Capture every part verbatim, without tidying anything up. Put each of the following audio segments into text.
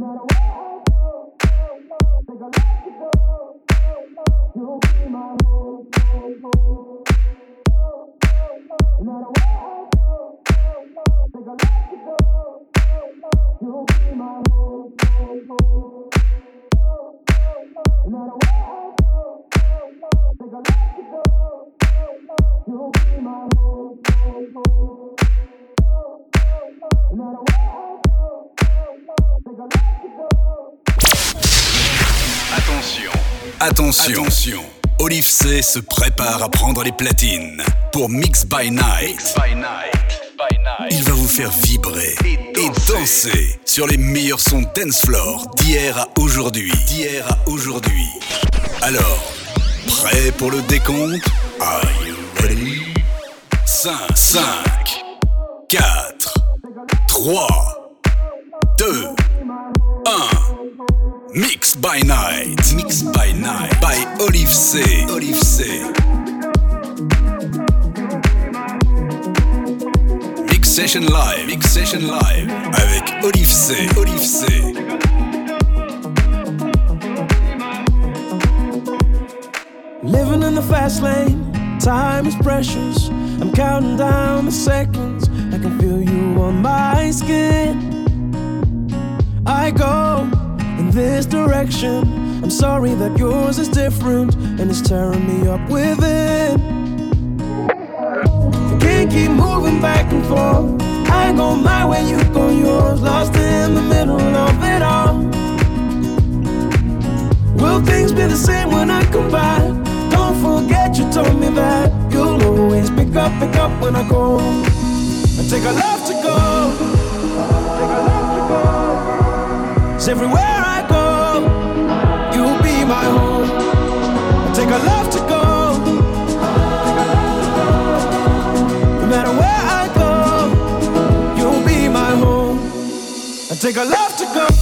Attention, attention, Olive C se prépare à prendre les platines pour Mix by Night. Mix by Night. By Night. Il va vous faire vibrer et danser, et danser sur les meilleurs sons dance floor d'hier à aujourd'hui. D'hier à aujourd'hui. Alors, prêt pour le décompte? Are you ready? cinq, cinq, quatre, trois, deux, un. Mix by Night, Mix by Night, by Olive C, Olive C. Mix Session Live, Mix Session Live, avec Olive C, Olive C. Living in the fast lane, time is precious. I'm counting down the seconds, I can feel you on my skin. I go in this direction, I'm sorry that yours is different and it's tearing me up within. I can't keep moving back and forth, I go my way, you go yours, lost in the middle of it all. Will things be the same when I come back? Don't forget you told me that you'll always pick up, pick up when I go. I take a love to go, take a love to go. It's everywhere I go, you'll be my home. I take a love to go, no matter where I go, you'll be my home. I take a love to go.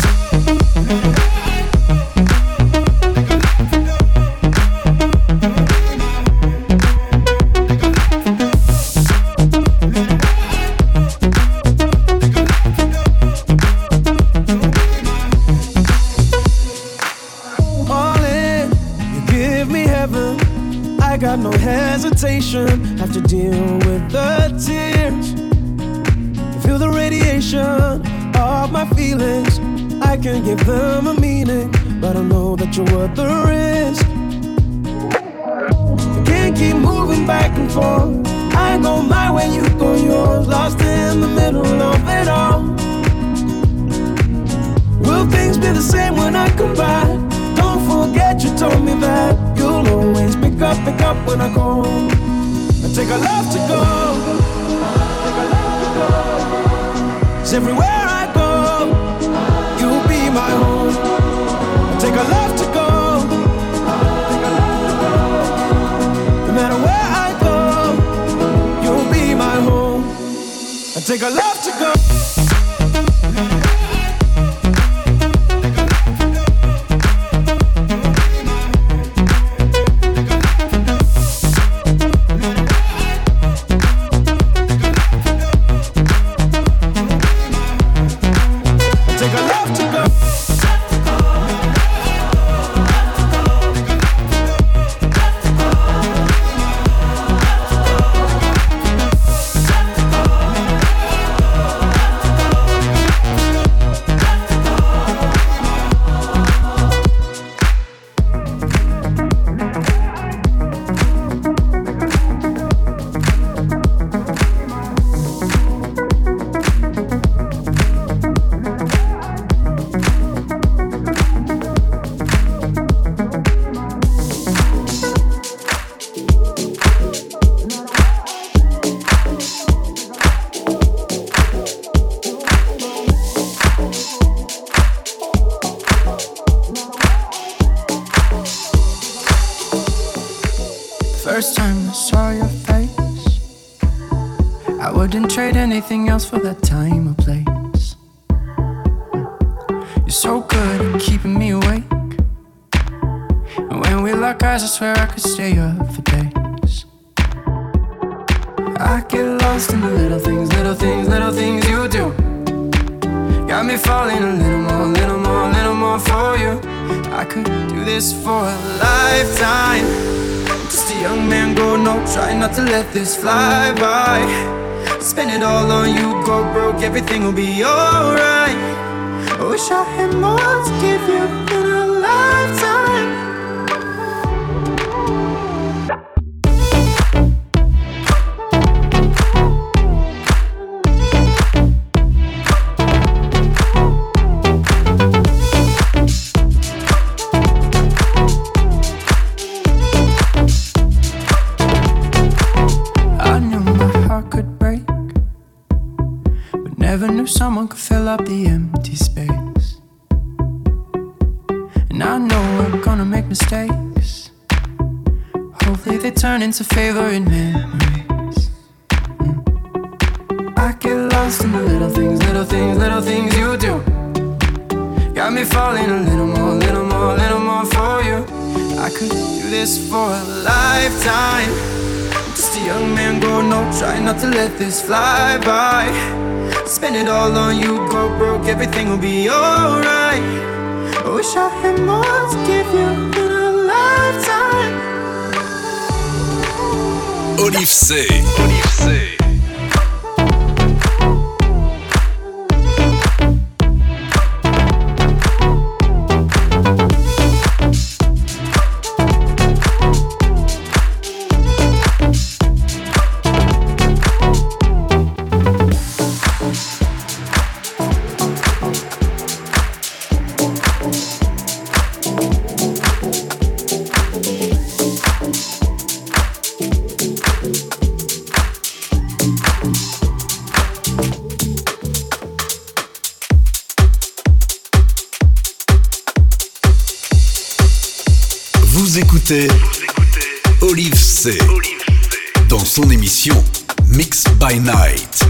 No hesitation, have to deal with the tears. Feel the radiation of my feelings. I can give them a meaning, but I know that you're worth the risk. I can't keep moving back and forth, I go my way, you go yours, lost in the middle of it all. Will things be the same when I come back? Don't forget you told me that you'll always pick up, pick up when I go. I take a love to go, take a love to go. It's everywhere I go, you'll be my home. I take a love to go, take a love to go. No matter where I go, you'll be my home. I take a love to go. Anything else for that time or place. You're so good at keeping me awake, and when we lock eyes I swear I could stay up for days. I get lost in the little things, little things, little things you do. Got me falling a little more, more for you. I could do this for a lifetime. Just a young man growing up, try not to let this fly by. Spend it all on you, go broke, everything will be alright. I wish I had more to give you in a lifetime. Someone could fill up the empty space. And I know we're gonna make mistakes. Hopefully they turn into favorite memories. mm. I get lost in the little things, little things, little things you do. Got me falling a little more, little more, little more for you. I could do this for a lifetime. Just a young man growing up, trying not to let this fly by. Spend it all on you, go broke, everything will be alright. I wish I had more to give you in a lifetime. Olive C. Olive C. Vous écoutez Olive C dans son émission Mix by Night.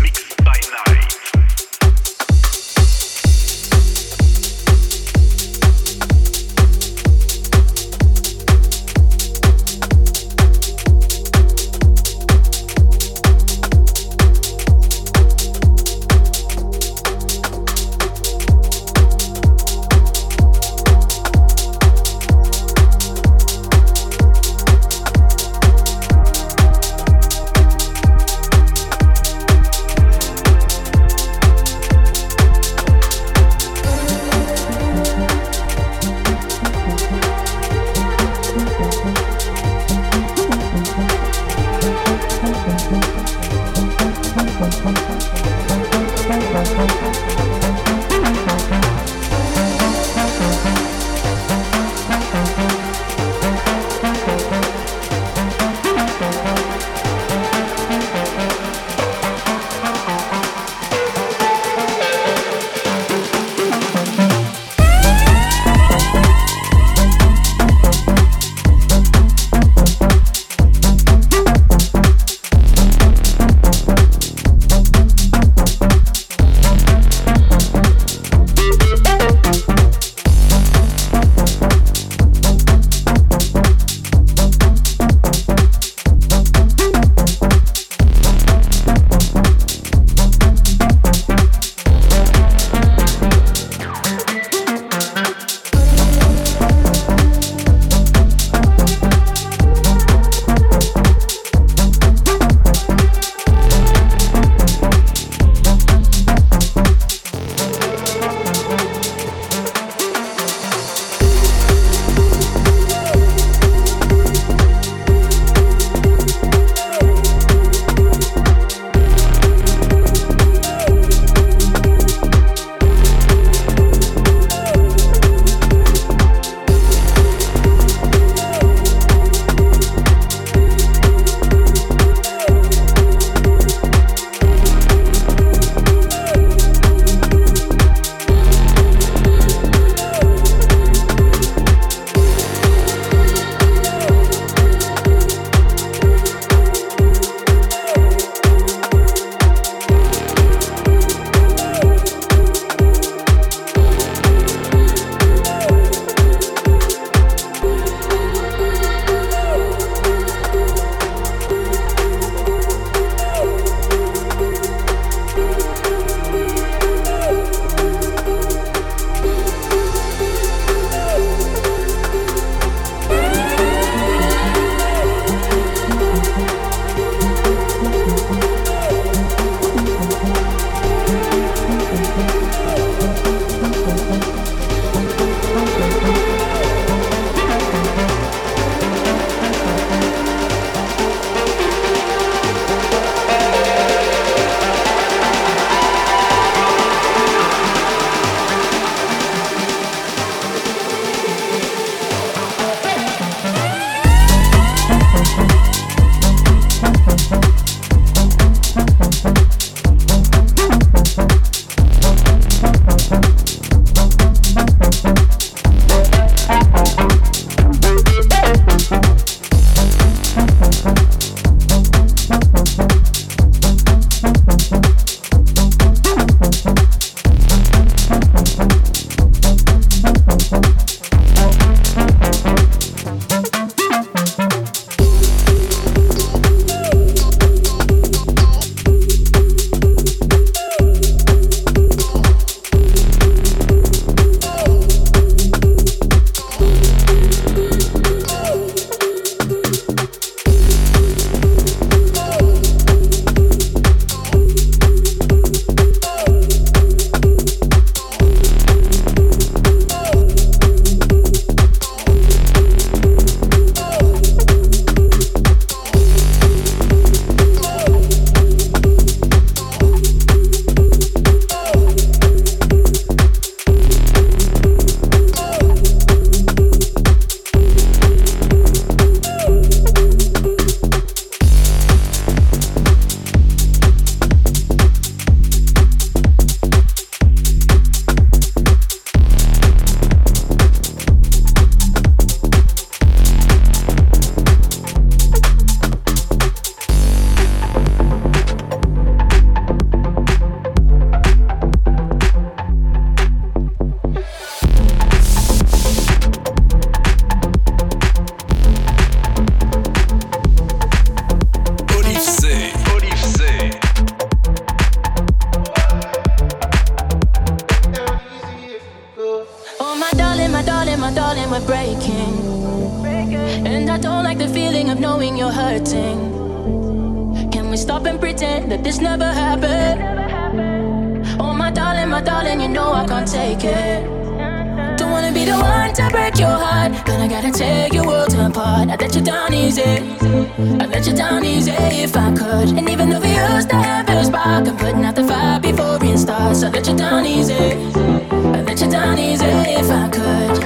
darling, we're breaking. And I don't like the feeling of knowing you're hurting. Can we stop and pretend that this never happened? Oh my darling, my darling, you know I can't take it. Don't wanna be the one to break your heart, but I gotta tear your world apart. I'd let you down easy, I'd let you down easy if I could. And even though we used to have a spark, I'm putting out the fire before it starts. I'd let you down easy, I'd let you down easy if I could.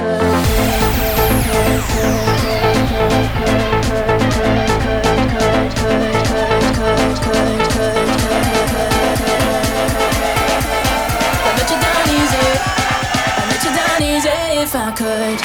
If I could.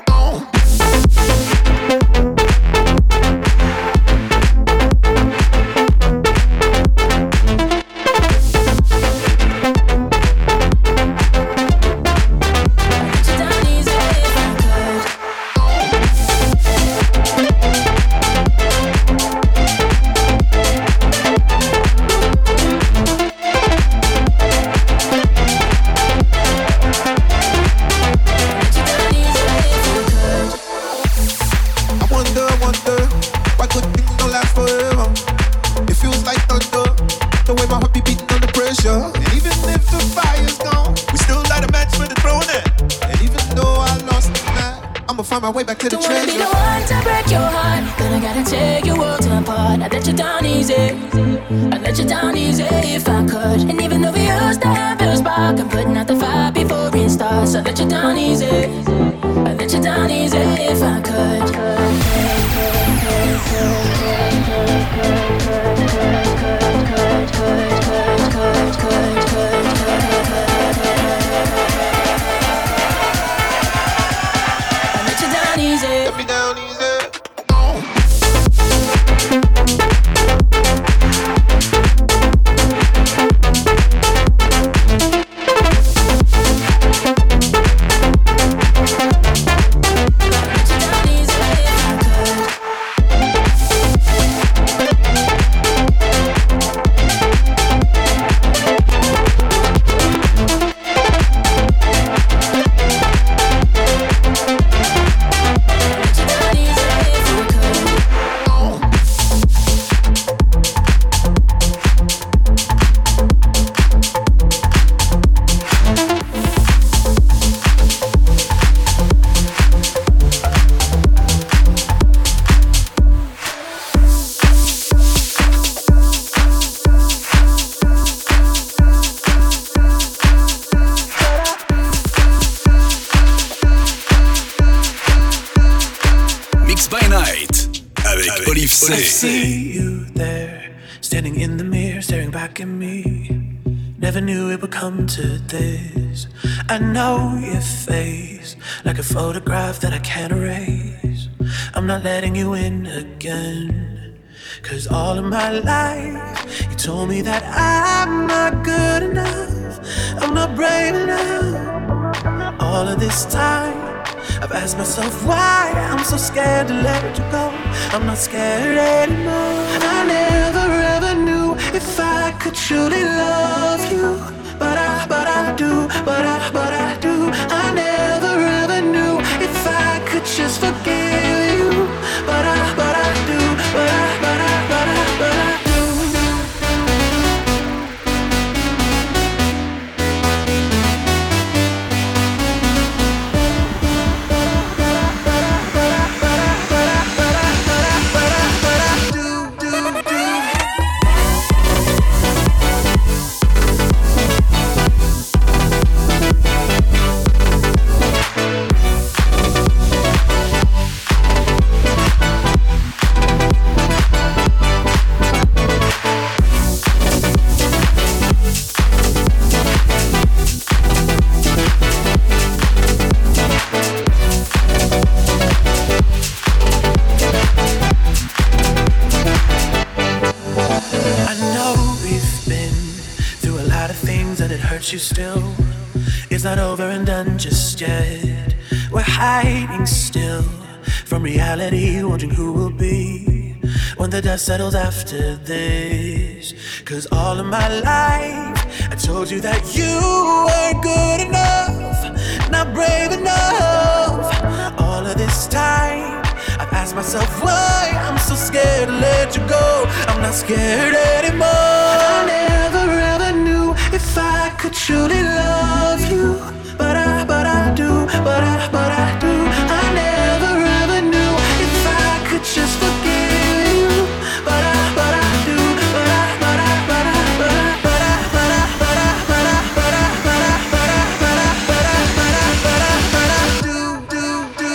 My way back to the treasure. Don't wanna be the one to break your heart, but I gotta tear your world apart. I'd let you down easy, I'd let you down easy if I could. And even though we used to have a spark, I'm putting out the fire before it starts. I'd let you down easy, I'd let you down easy if I could. Let me down easy. I see you there, standing in the mirror, staring back at me. Never knew it would come to this. I know your face, like a photograph that I can't erase. I'm not letting you in again, 'cause all of my life you told me that I'm not good enough, I'm not brave enough. All of this time I've asked myself why I'm so scared to let you go. I'm not scared anymore. I never ever knew if I could truly love you, but I, but I do, but I, but I do. I never ever knew if I could just forgive you, but I, but I do, but I, but I, but I, but I do. You still, it's not over and done just yet. We're hiding still from reality, wondering who will be when the dust settles after this. 'Cause all of my life I told you that you weren't good enough, not brave enough. ask myself why I'm so scared to let you go. I'm not scared anymore. I never ever knew if I could truly love you, but I, but I do, but I, but I do. I never ever knew if I could just forgive you, but I, but I do, but I, but I, but I, but I, but I, but I, but I, but I, but I, but I, but I, but I, but I, but I, but I, but I do, do, do.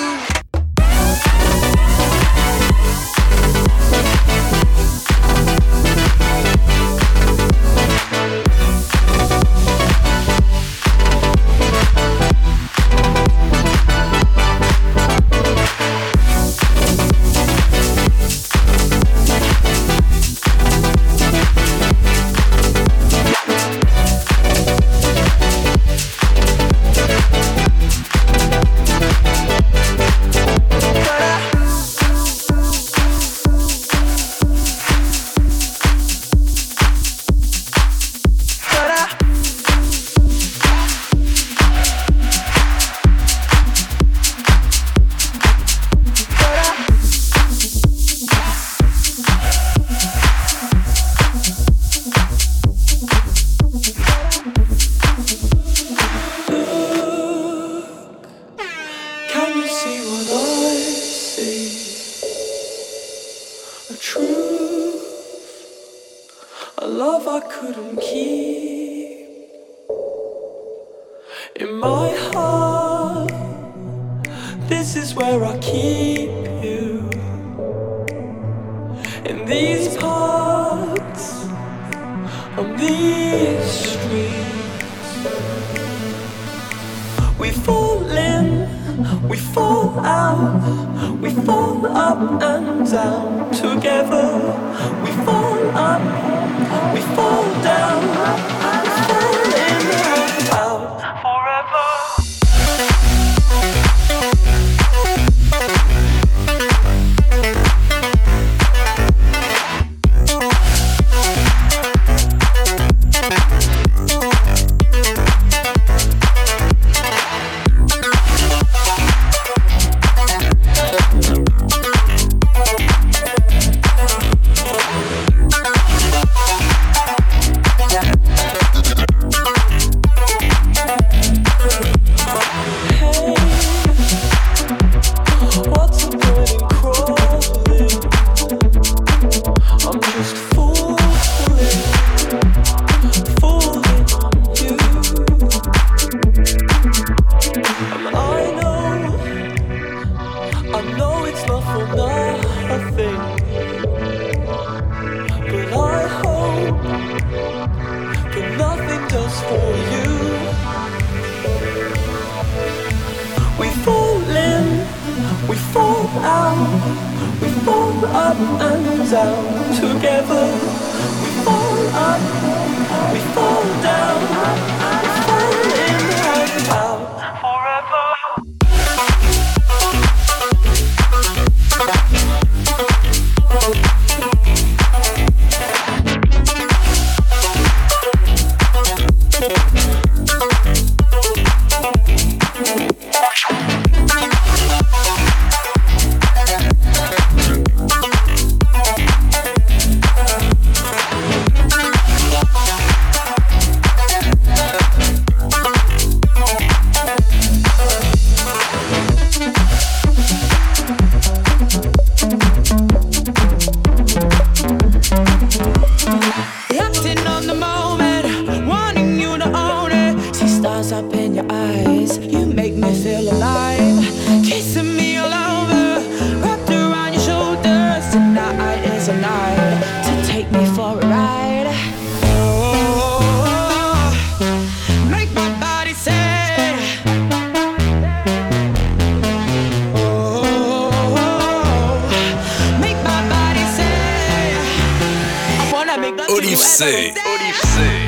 Olive C. Olive C.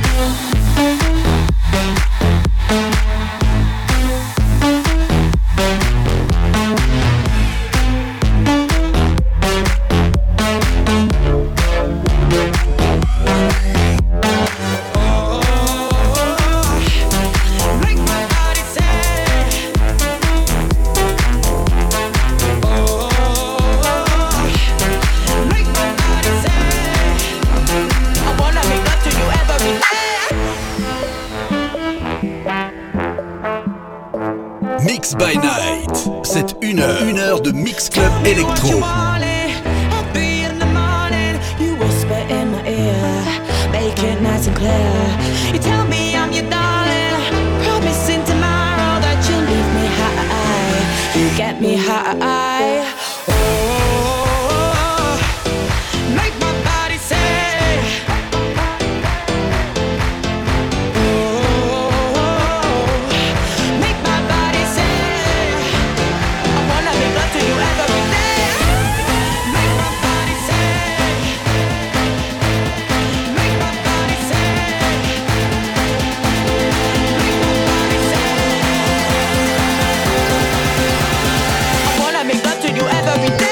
Oh Mix by Night. C'est une heure, une heure de Mix Club Electro. Make it nice and clear. You tell me I'm your darling, promising tomorrow that you'll leave me high. You get me high. Oh, make my body say. Oh, make my body say. I wanna make love to you every day. Make my body say. Make love to you every day.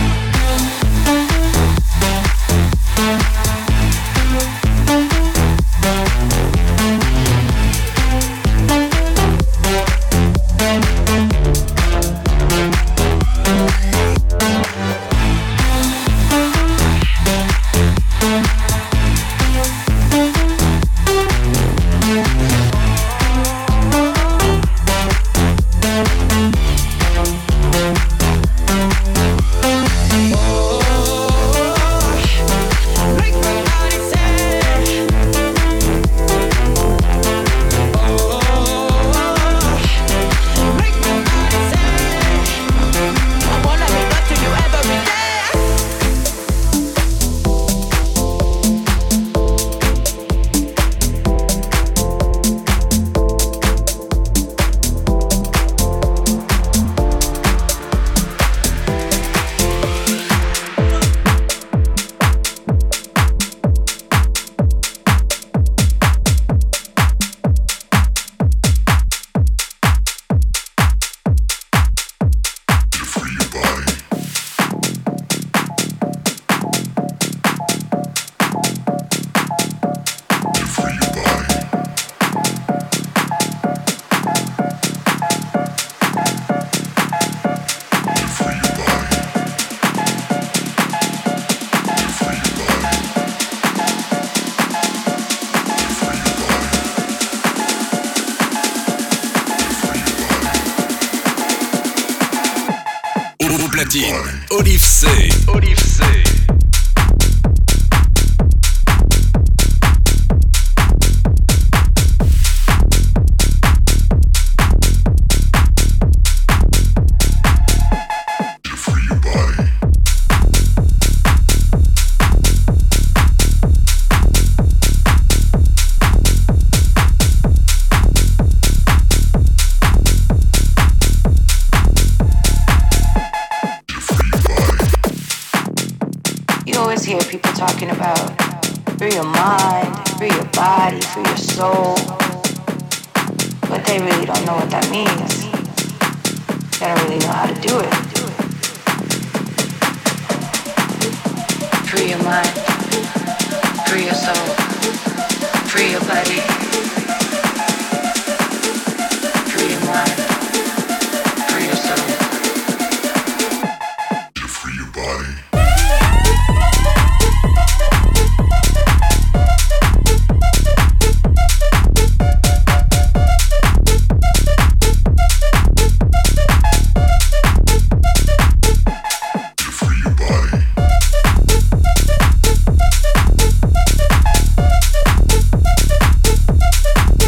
Olive C. Olive C. Hear people talking about free your mind, free your body, free your soul, but they really don't know what that means. They don't really know how to do it. Free your mind, free your soul, free your body, free your mind, free your soul, free your body. body.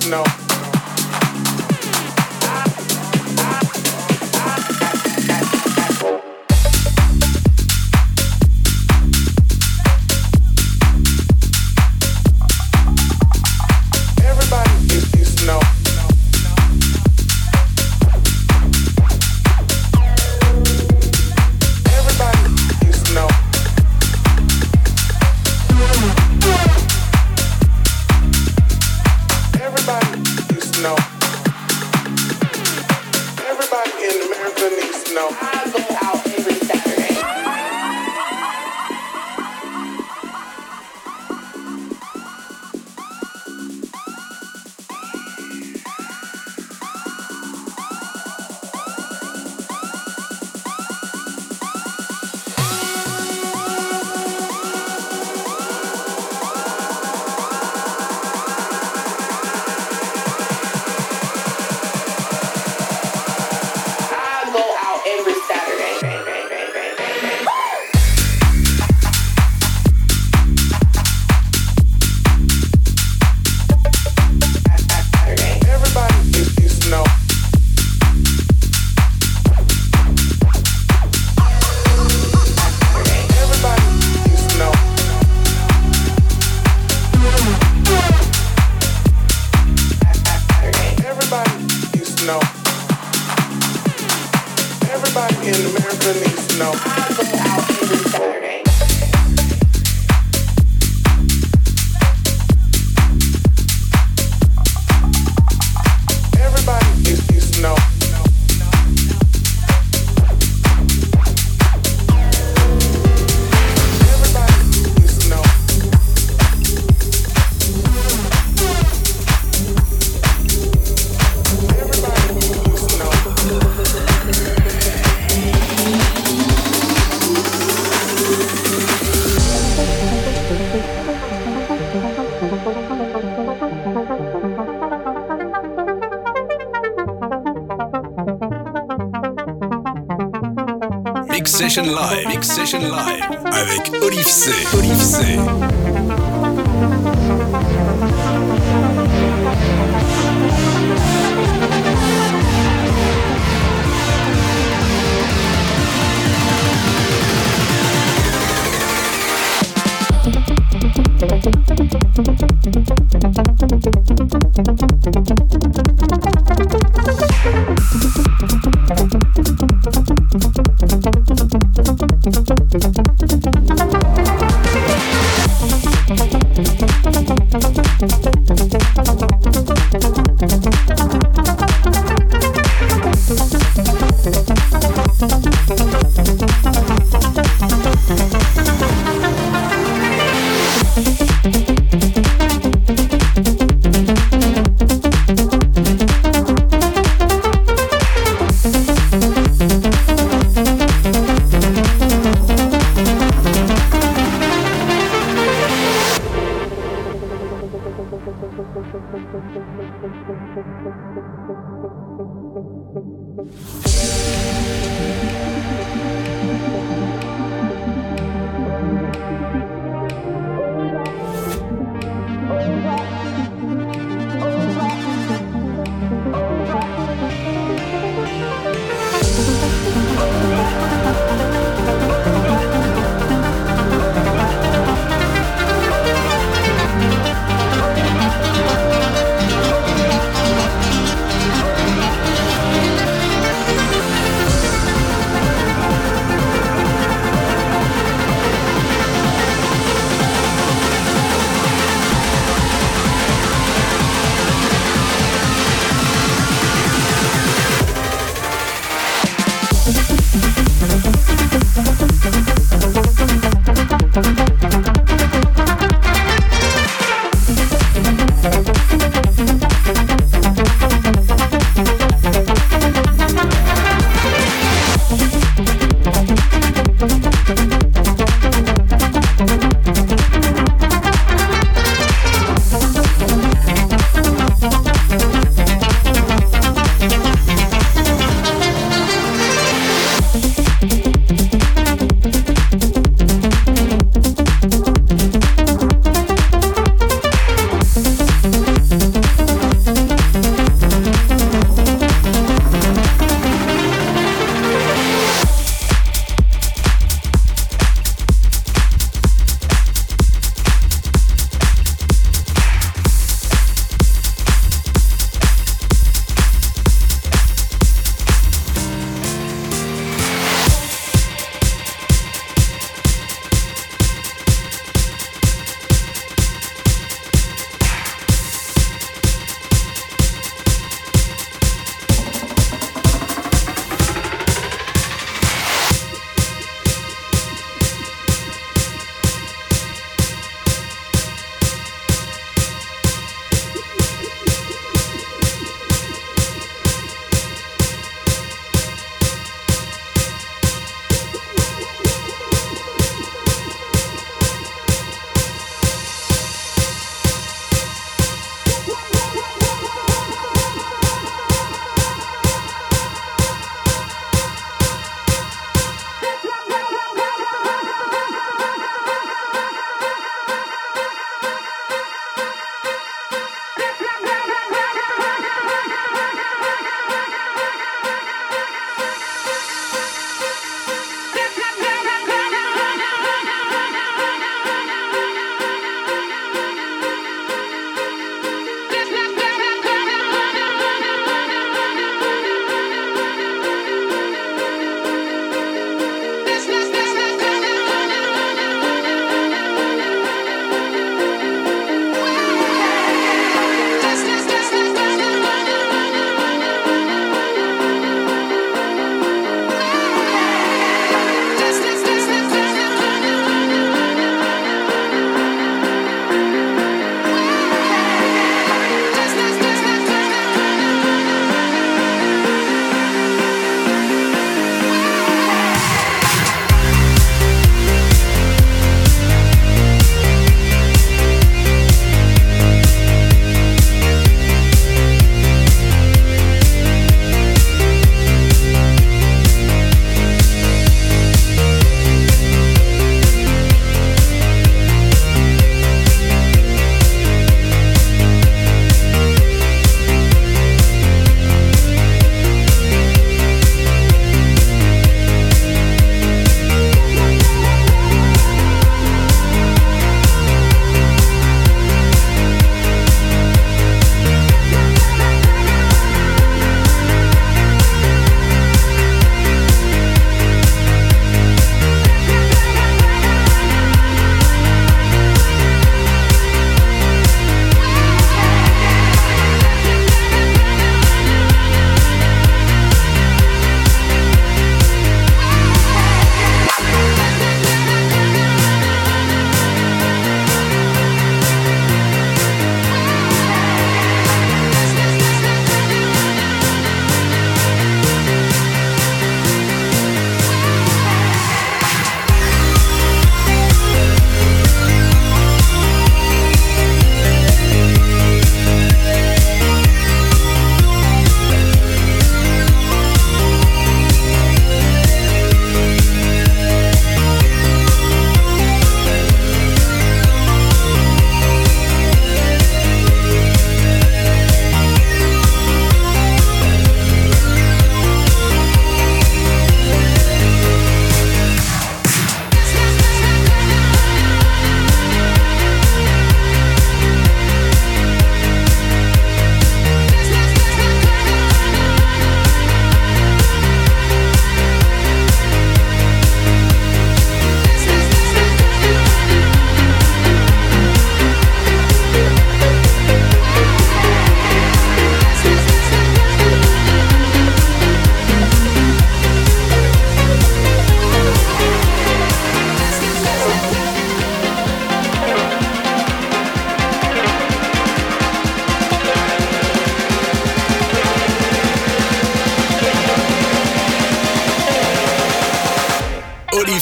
Mix Session Live, Mix Session Live avec Olive C. Olive C.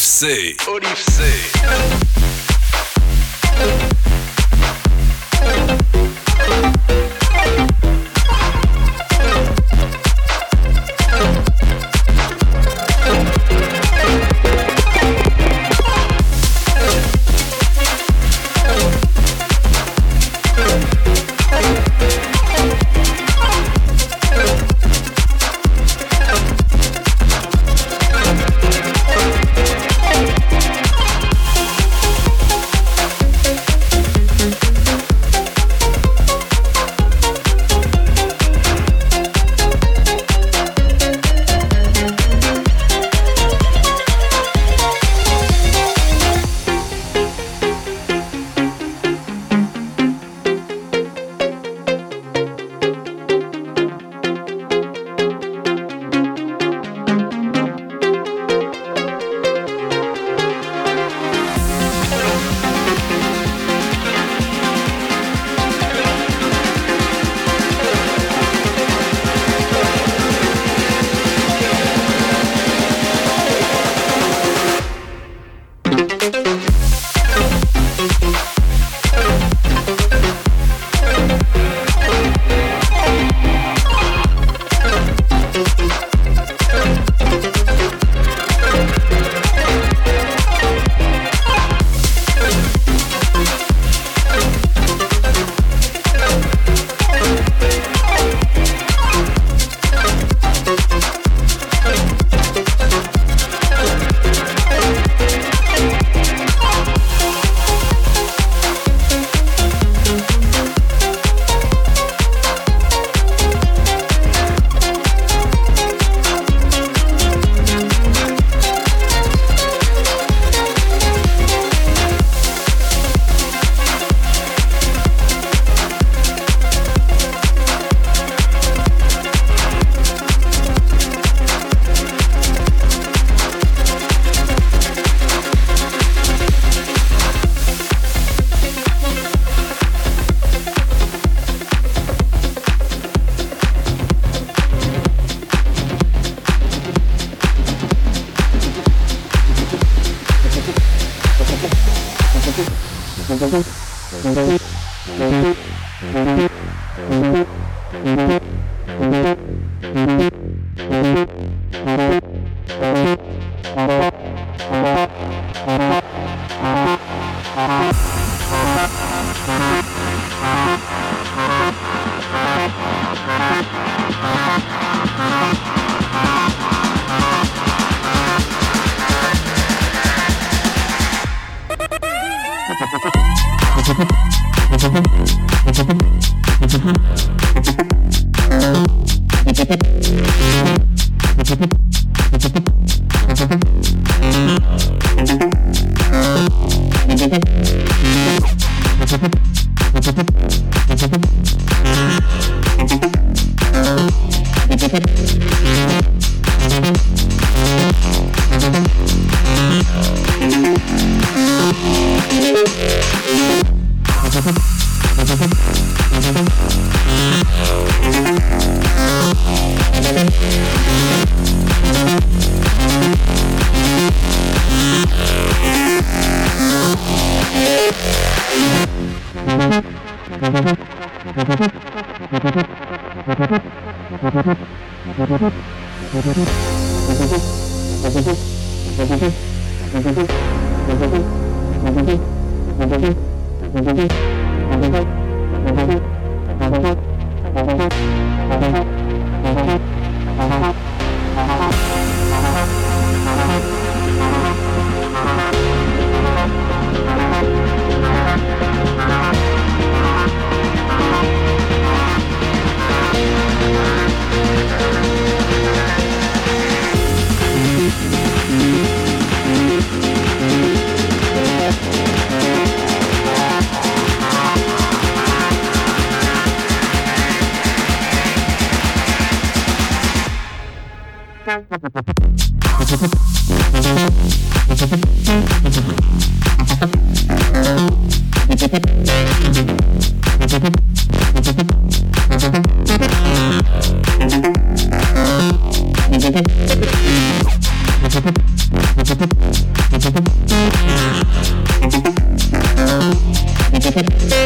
C. Olive C.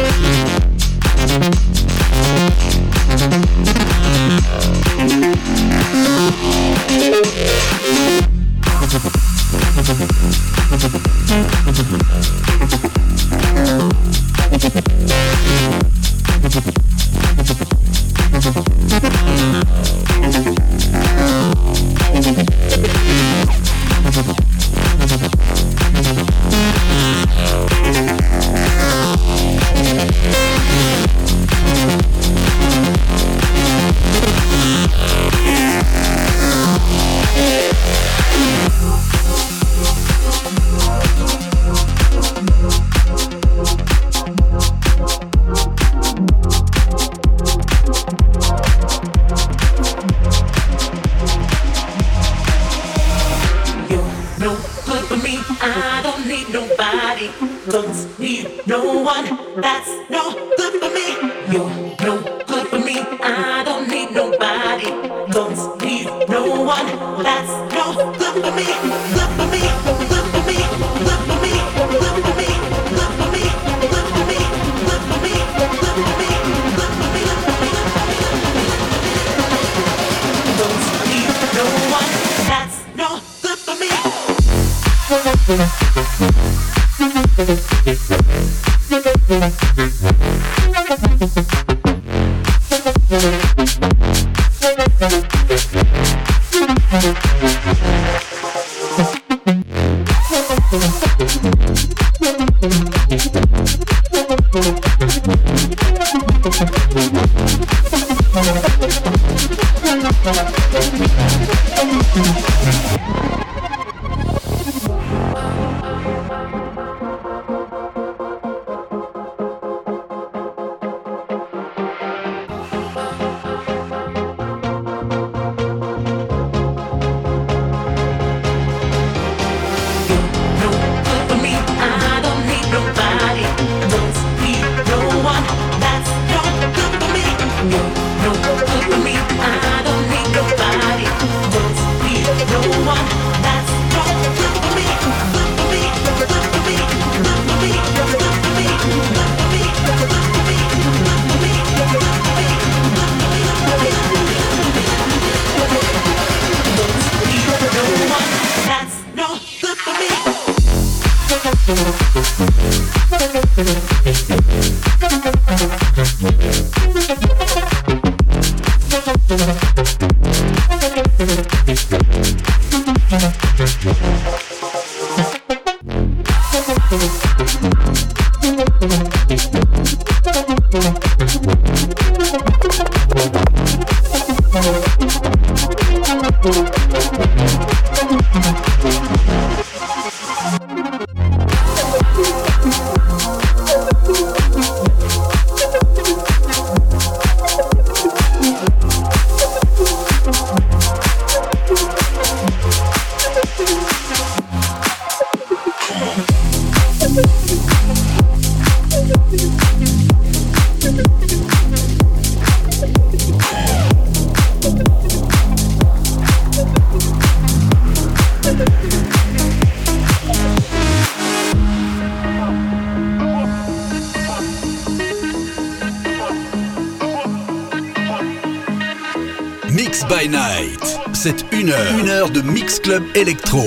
Mix by Night, c'est une heure, une heure de Mix Club Electro.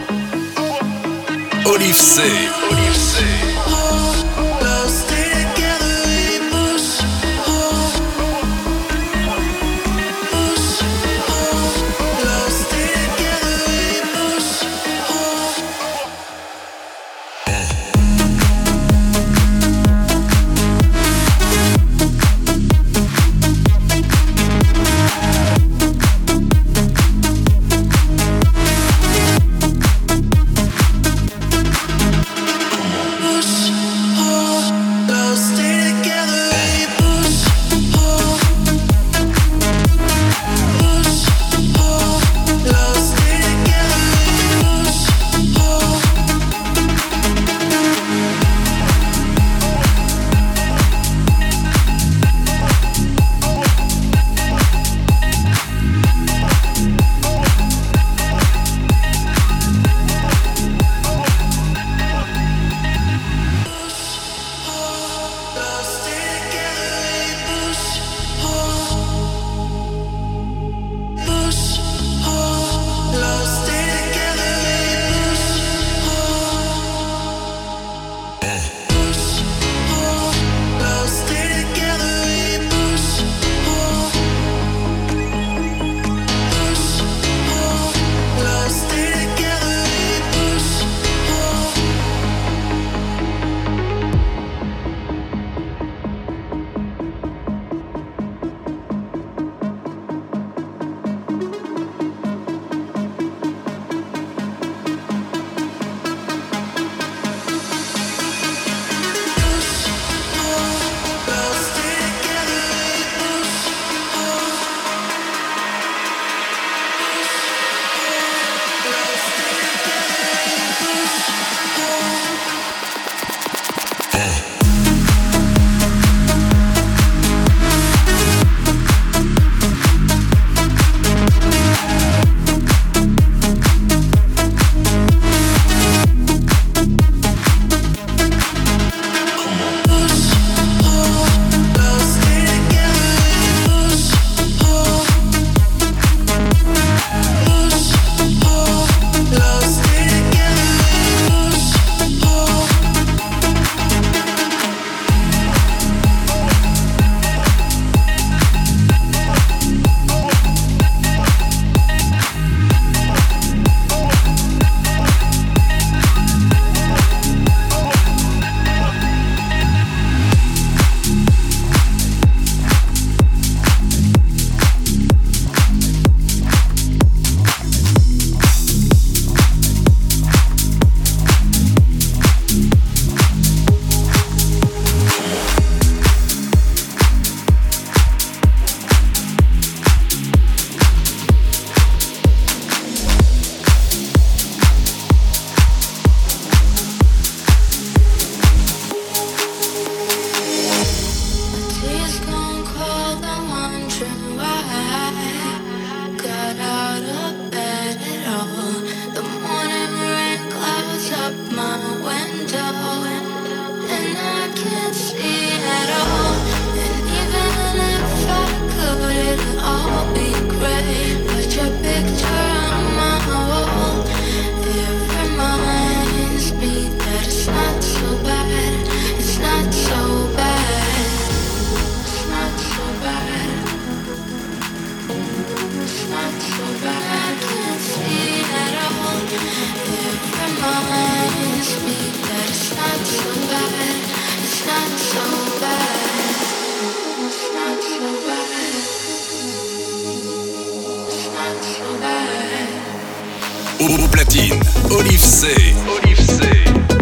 Olive C. Olive C. platine. Olive C. Olive C.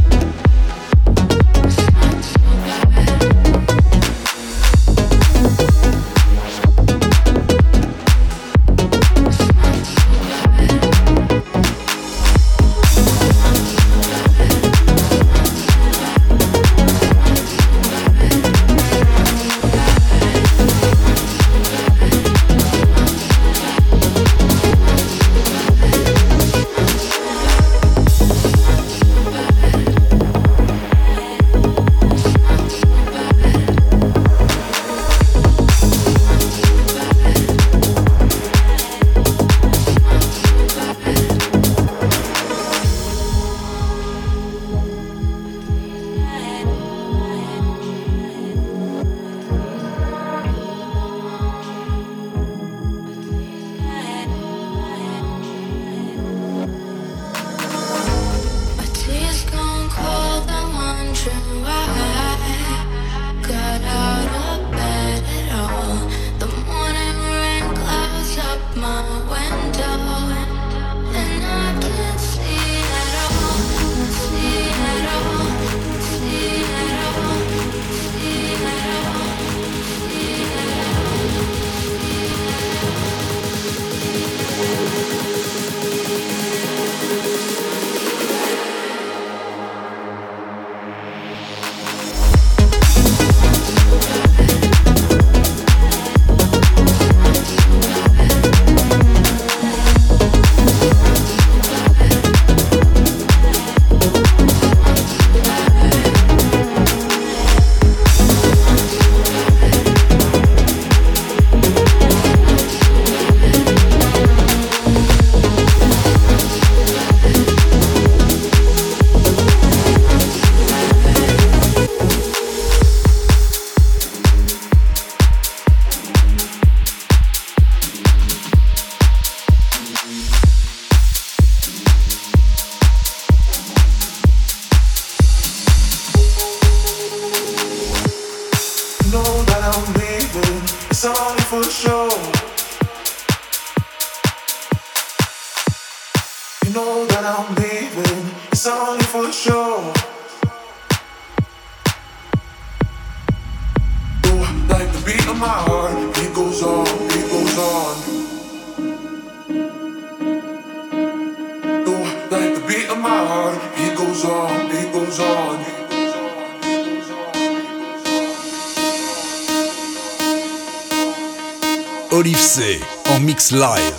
Olive C en mix live.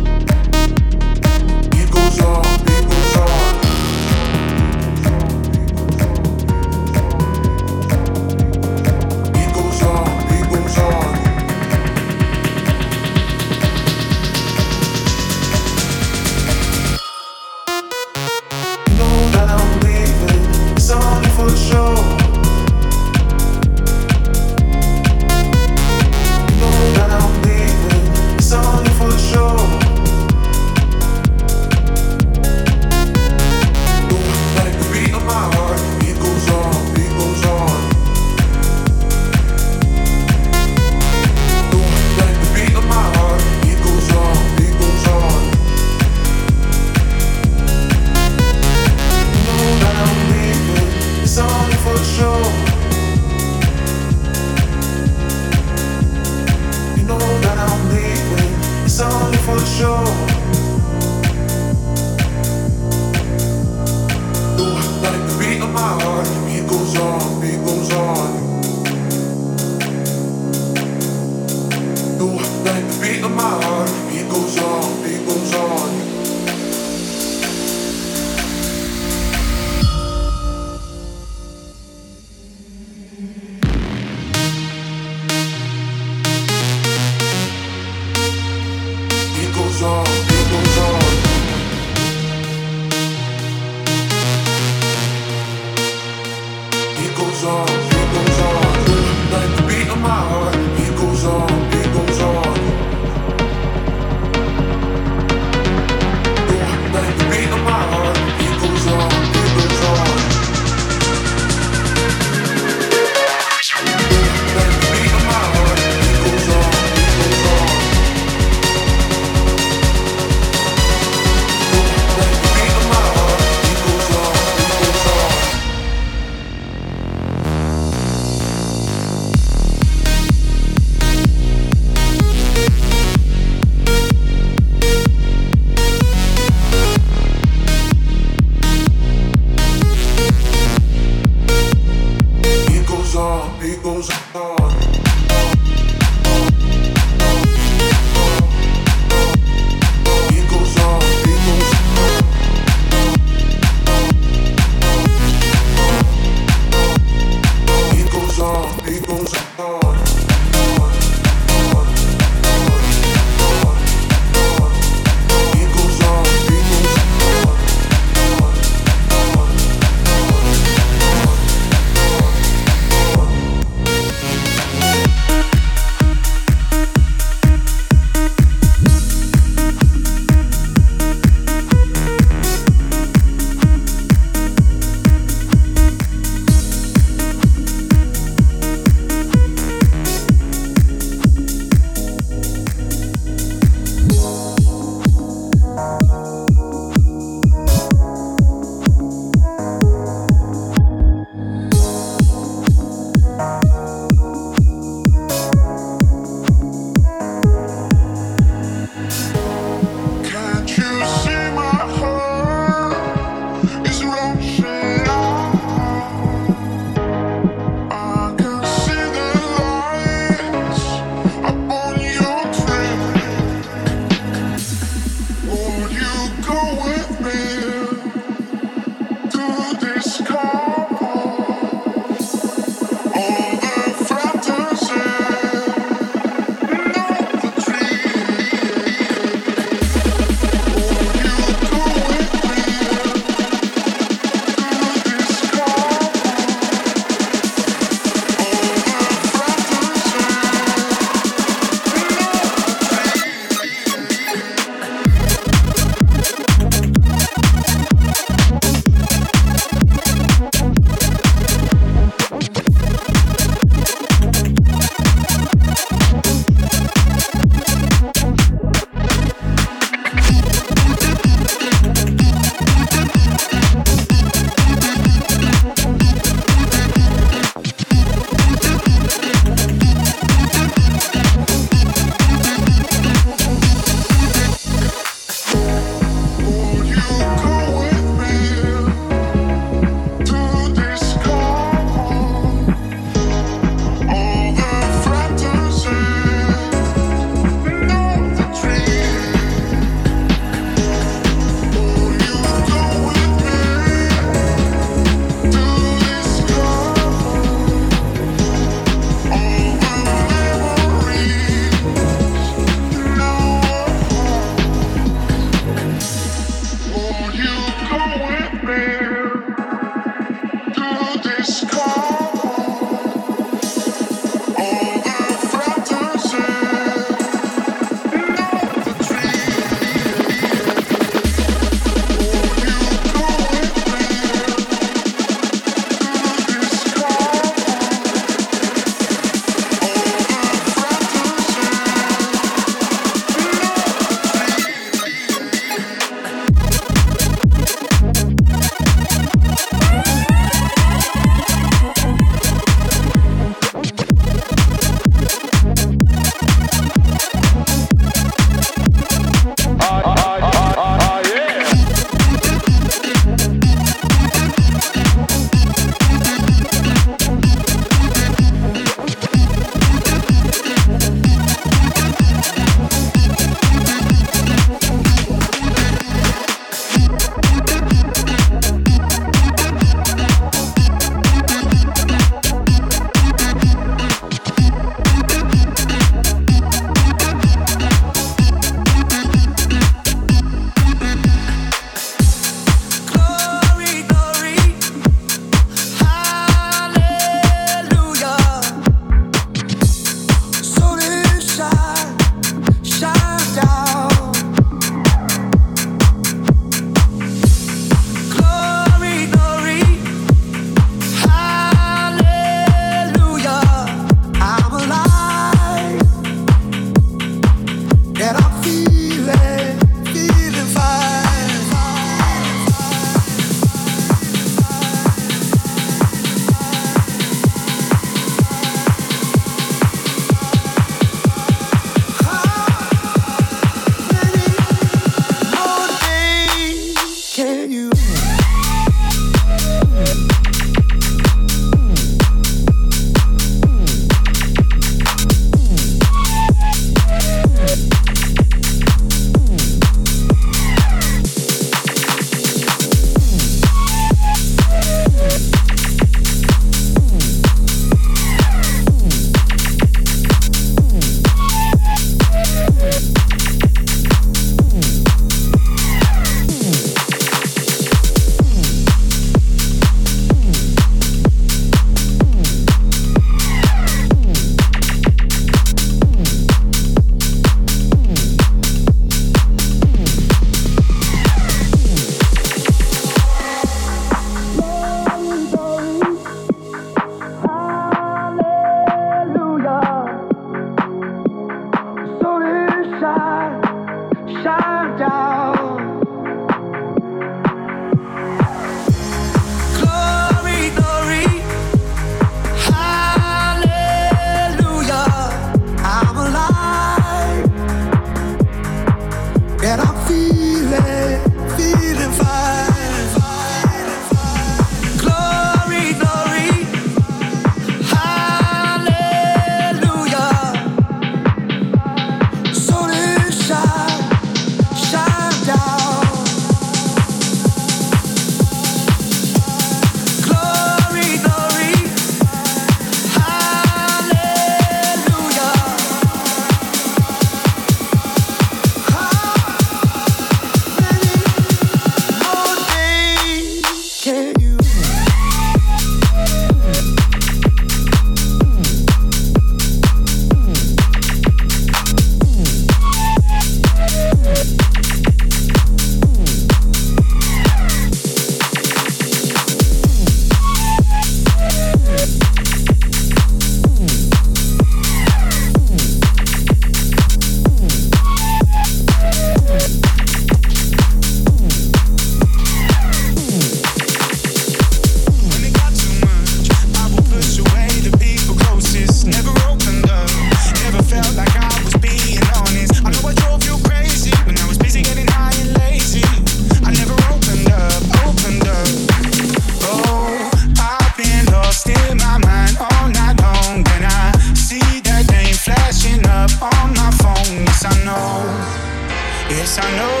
Yes, I know.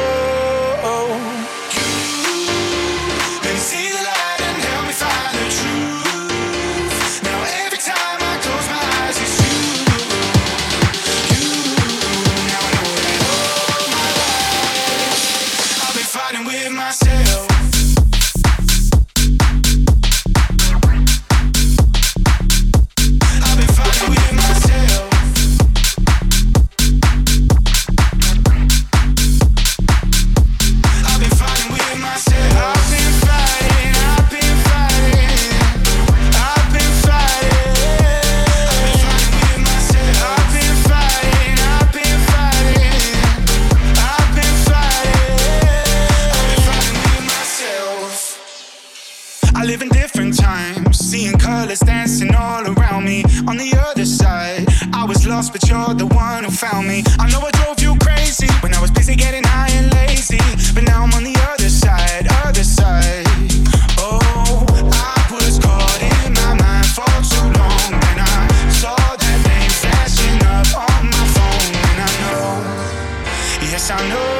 But you're the one who found me. I know I drove you crazy when I was busy getting high and lazy, but now I'm on the other side, other side. Oh, I was caught in my mind for too long, and I saw that name flashing up on my phone, and I know, yes I know.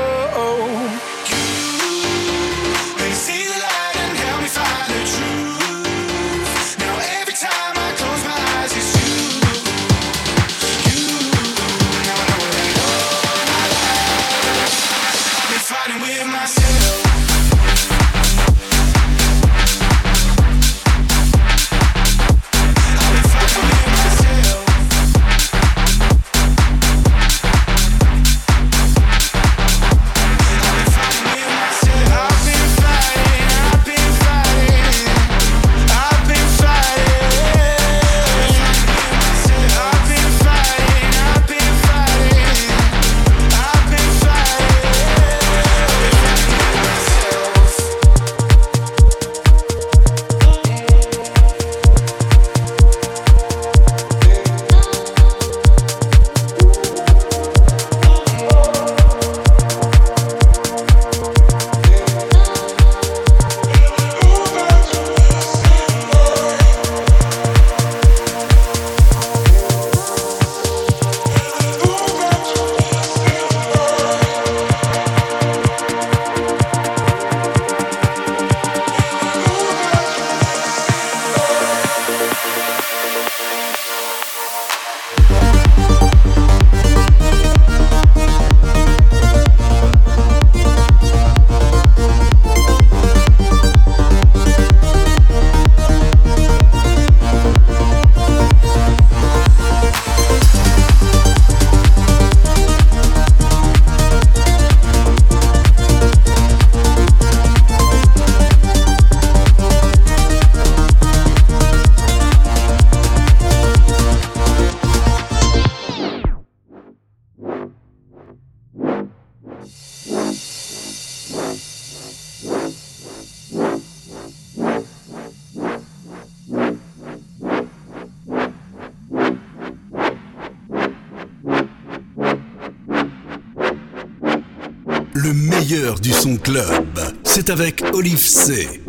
Le meilleur du son club, c'est avec Olive C.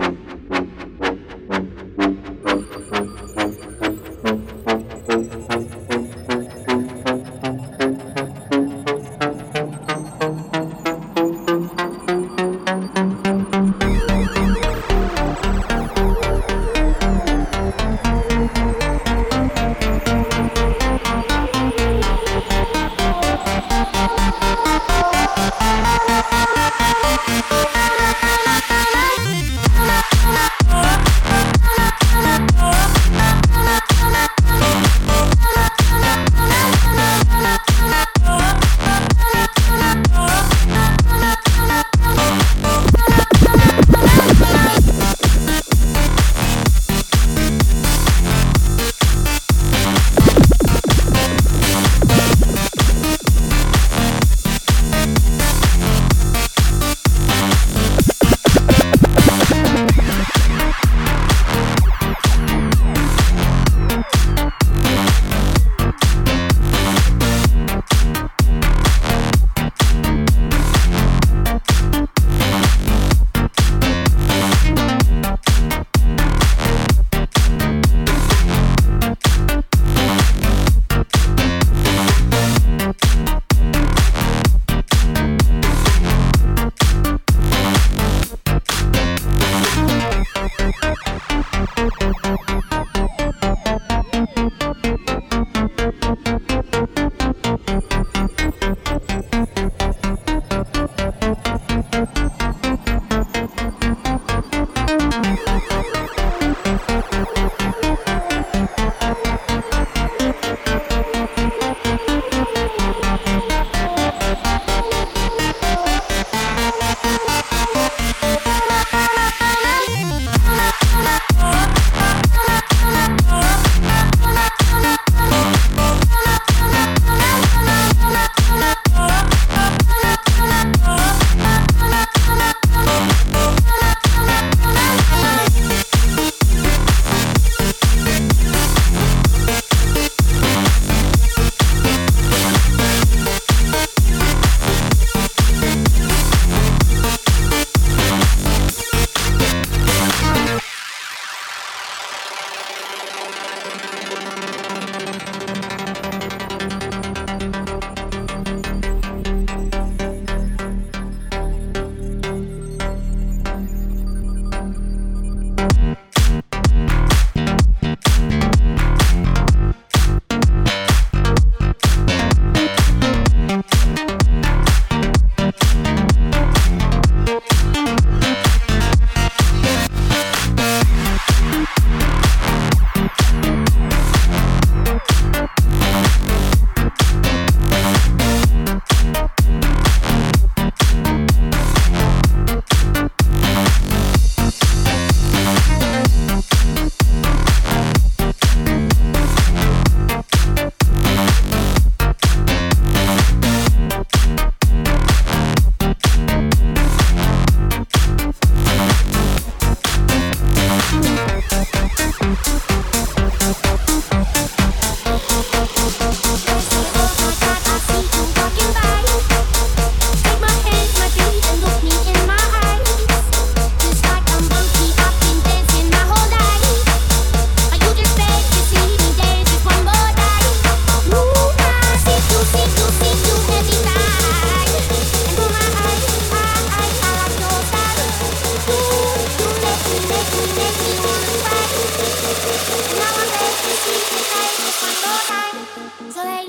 Bye.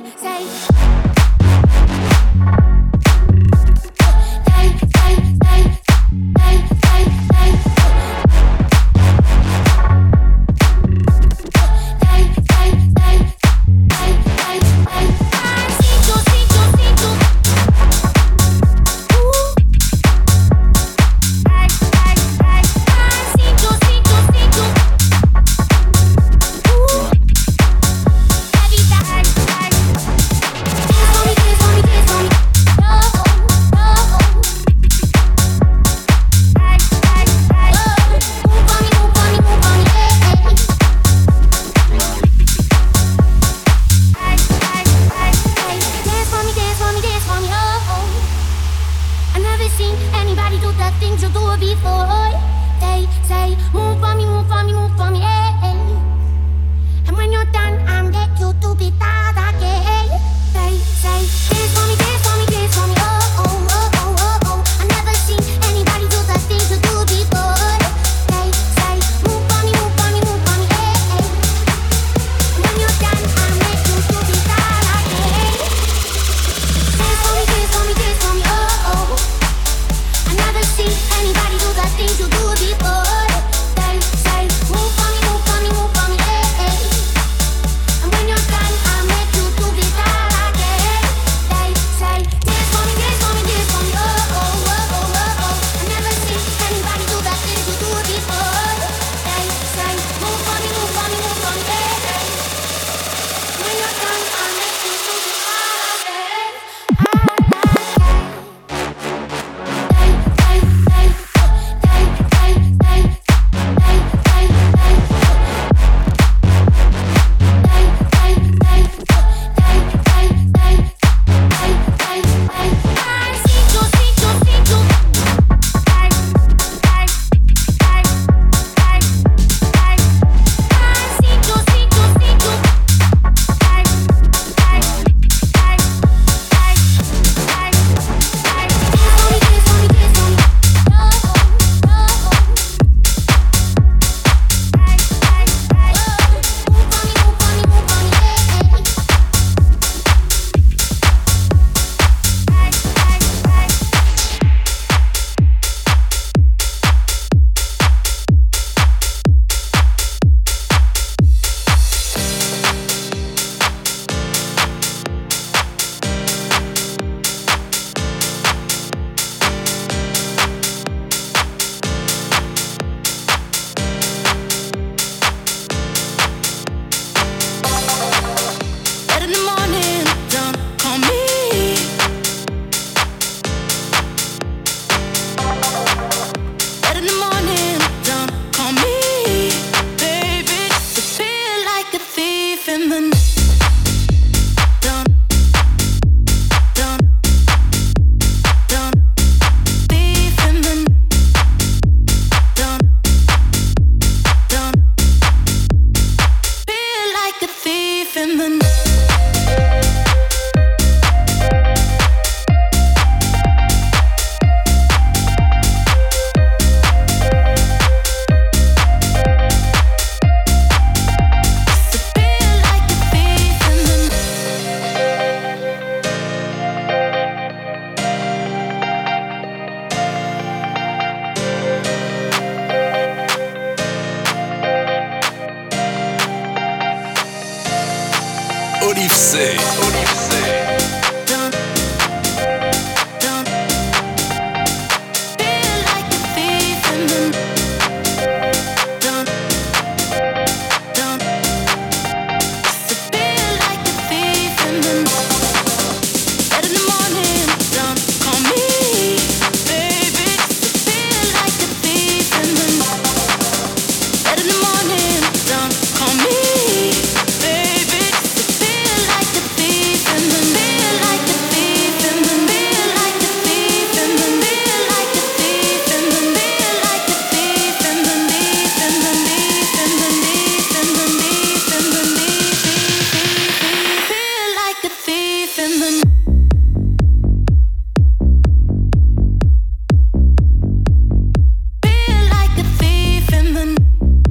Olive C. Olive C.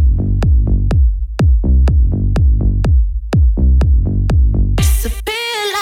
Feel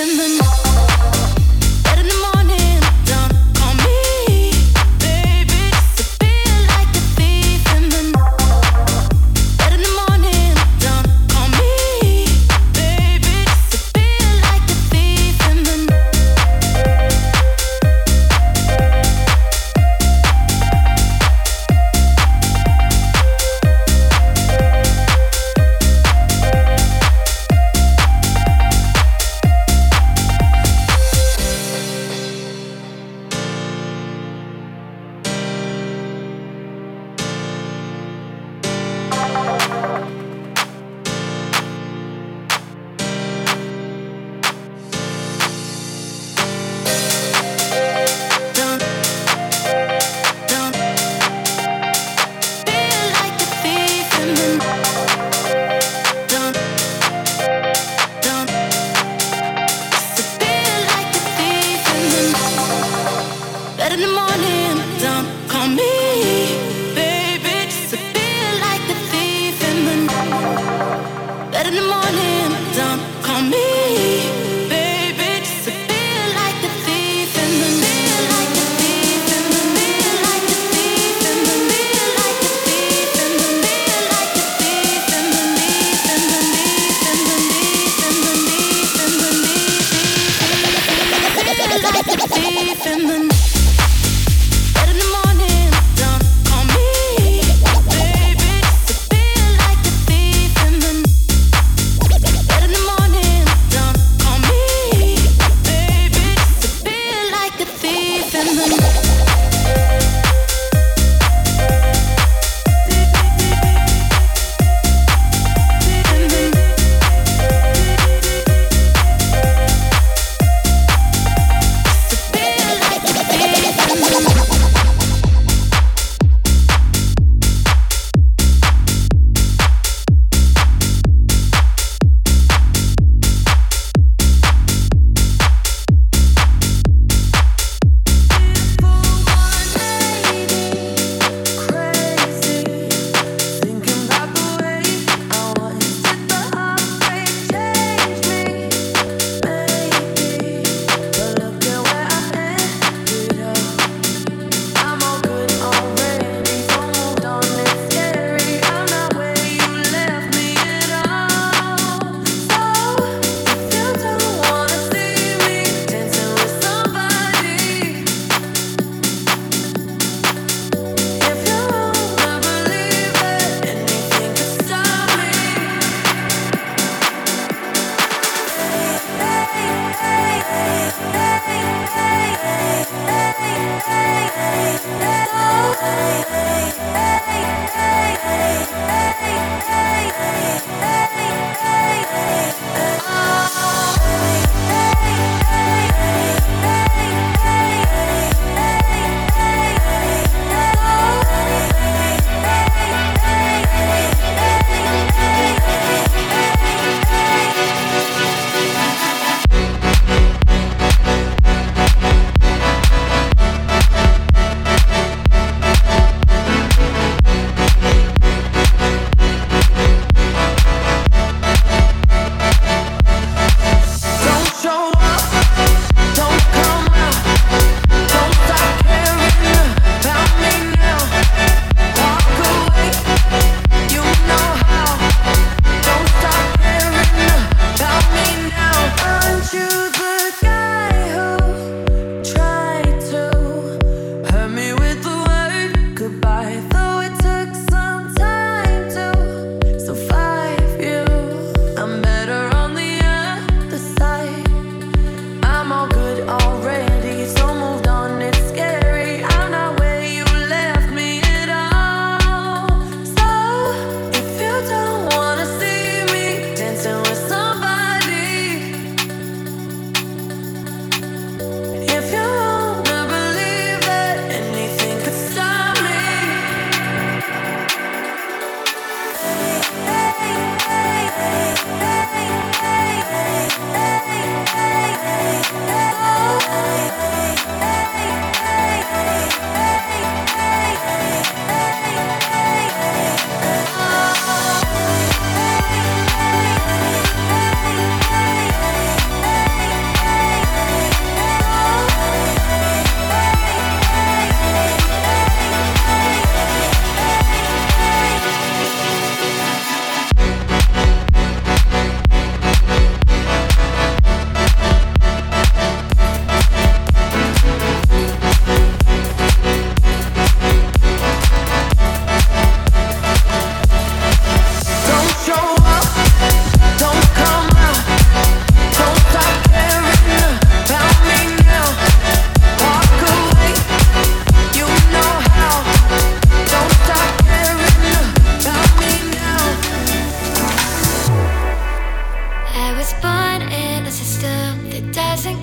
Feel like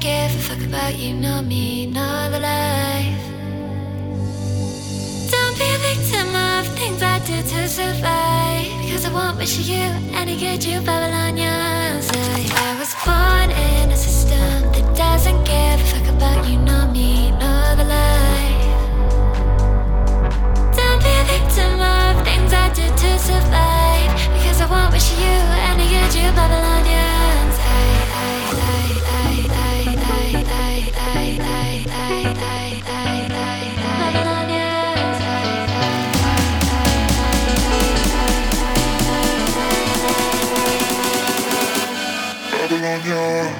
give a fuck about you, nor me, nor the life. Don't be a victim of things I do to survive, because I won't wish you any good, you Babylonians. I, I was born in a system that doesn't give a fuck about you, nor me, nor the life. Don't be a victim of things I do to survive, because I won't wish you any good, you Babylonians. I, I, I, I, I, I, I, I, I, I, I, I, Babylonians. Babylonians.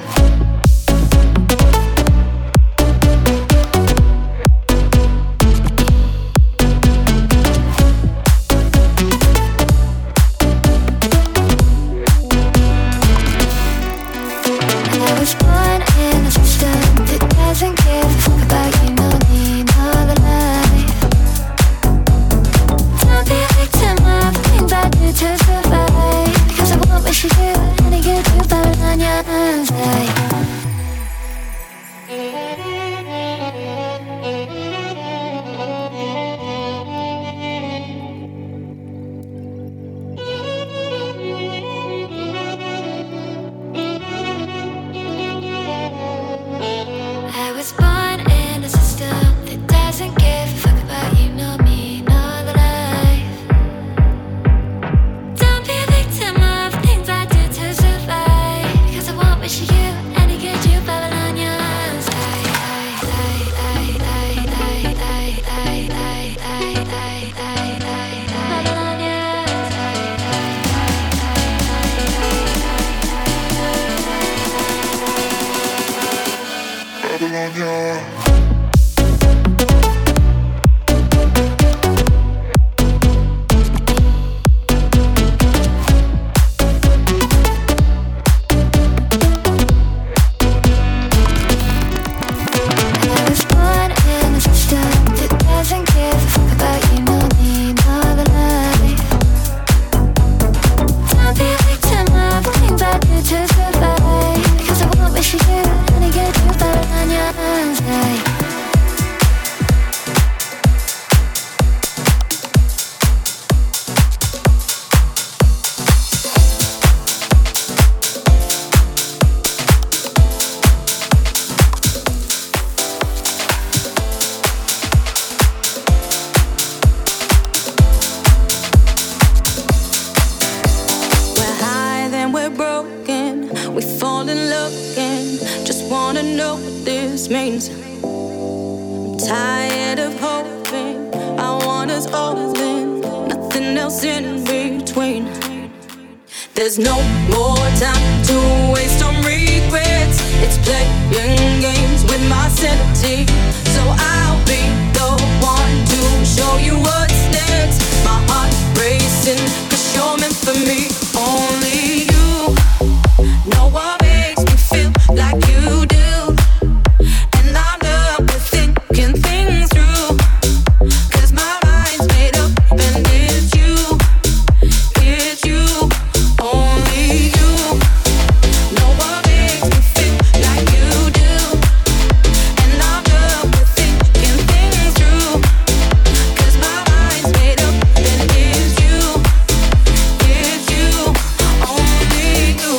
There's no more time to waste on regrets. It's playing games with my sanity. So I'll be the one to show you what's next. My heart racing, cause you're meant for me. Only you know what makes me feel like you do. And I'm done with thinking things through, cause my mind's made up and it's you. It's you. Only you know what makes me feel like you do. And I'm done with thinking things through, cause my mind's made up and it's you. It's you. Only you.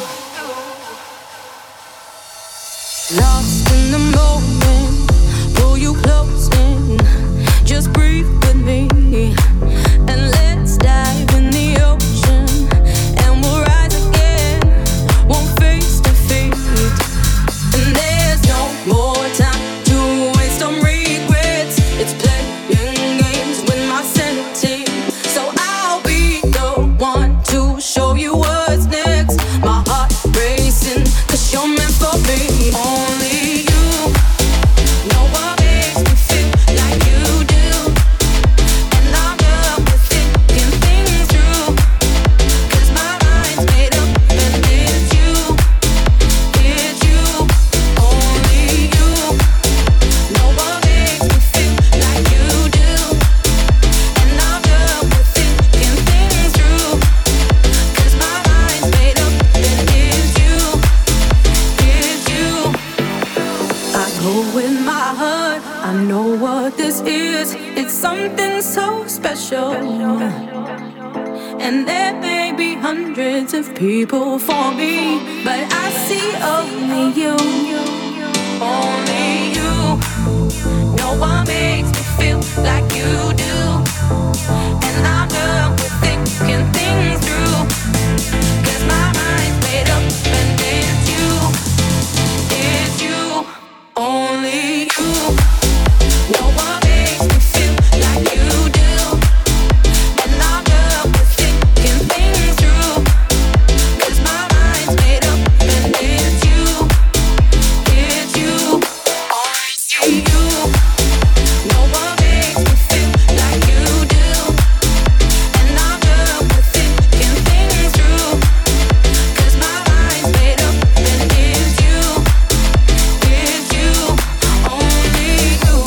Lost in the moment, pull you close in. Just breathe with me and let's dive in the ocean. And we'll rise again, won't face defeat. And there's no more time to waste on regrets. It's playing games with my sanity. So I'll be the one to show you what's next. My heart racing, cause you're meant for me. Only you know what makes me feel like you do. And I'm done with thinking things through, cause my mind's made up and it's you. It's you. Only you know what makes me feel like you do. And I'm done with thinking things through, cause my mind's made up and it's you. It's you. go with my heart. I know what this is. It's something so special. And there may be hundreds of people for me, but I see only you, only you. No one makes me feel like you do. And I'm done with thinking things through, 'cause my mind's made up and it's you, it's you, only you. No one makes me feel like you do. And I'm done with thinking things through, 'cause my mind's made up and it's you, it's you, only you. No one makes me feel like you do. And I'm done with thinking things through, 'cause my mind's made up and it's you, it's you, only you.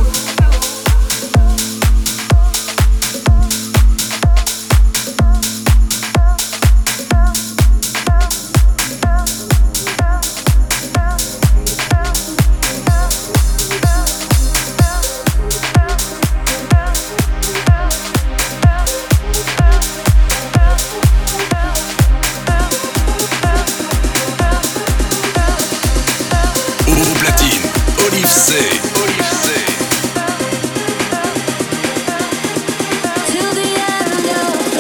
Au platine, Olive C. Olive C. Till the end of the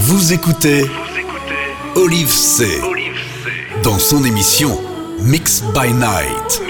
Vous écoutez Olive C dans son émission Mix by Night.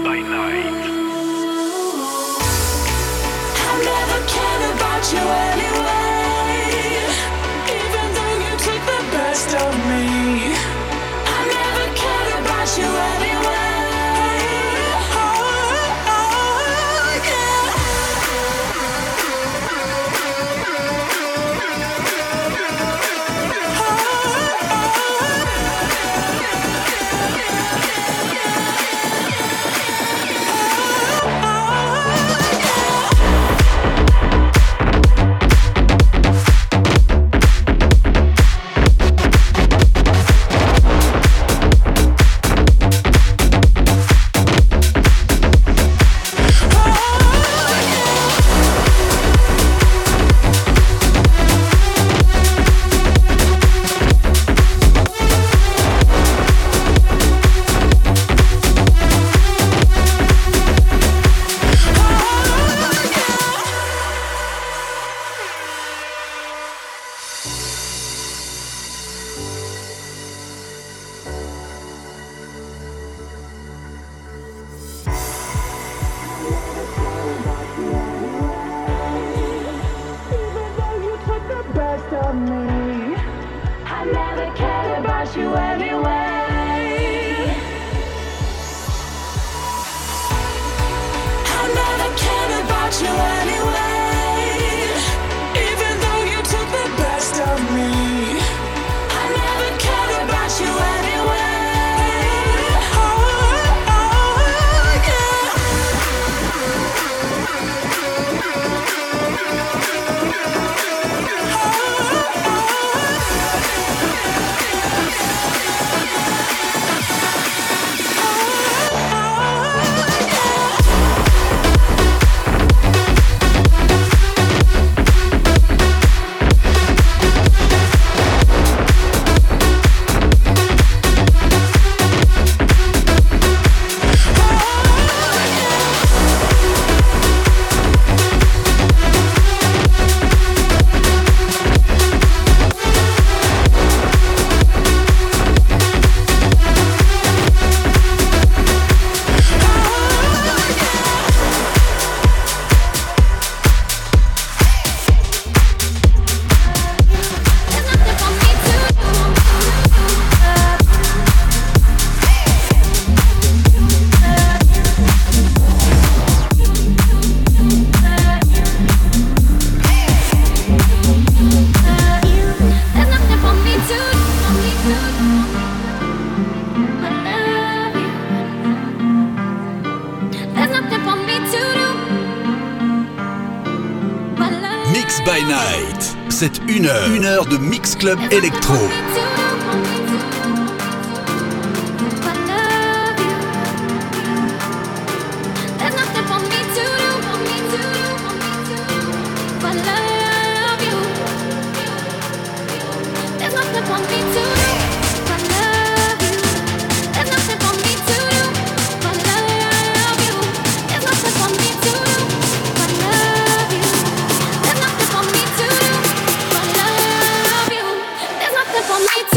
by Night. C'est une heure, une heure de Mix Club Electro. For me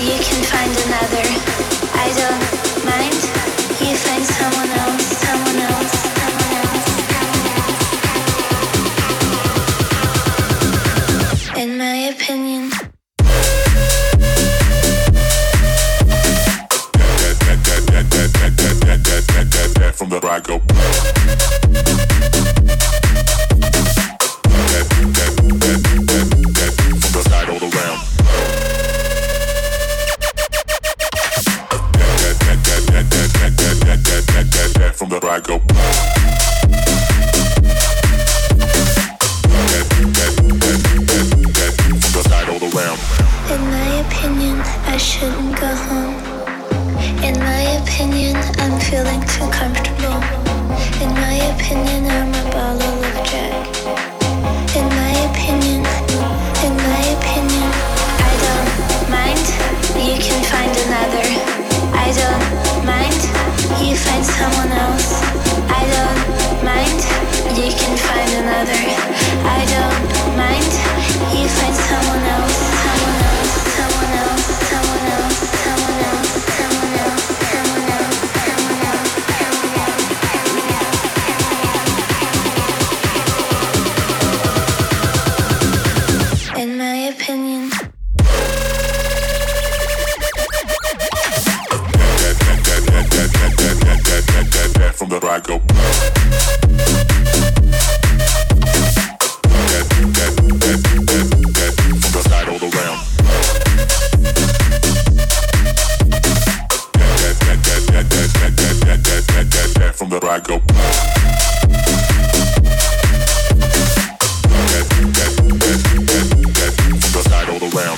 you can find another. I don't mind, you find someone else, someone else, someone else, someone else. In my opinion. From the I go. From the side all around. From the I go. From the side all around. In my opinion, I shouldn't go home. In my opinion, I'm feeling too comfortable. In my opinion, I'm a bottle of Jack. In my opinion, in my opinion, I don't mind, you can find another. I don't mind, you find someone else. I don't mind, you can find another. I don't mind, you find someone else, someone else, someone else, someone else, someone else, someone else. In my opinion. From the I go. From the side all around. From the I go. From the side all around.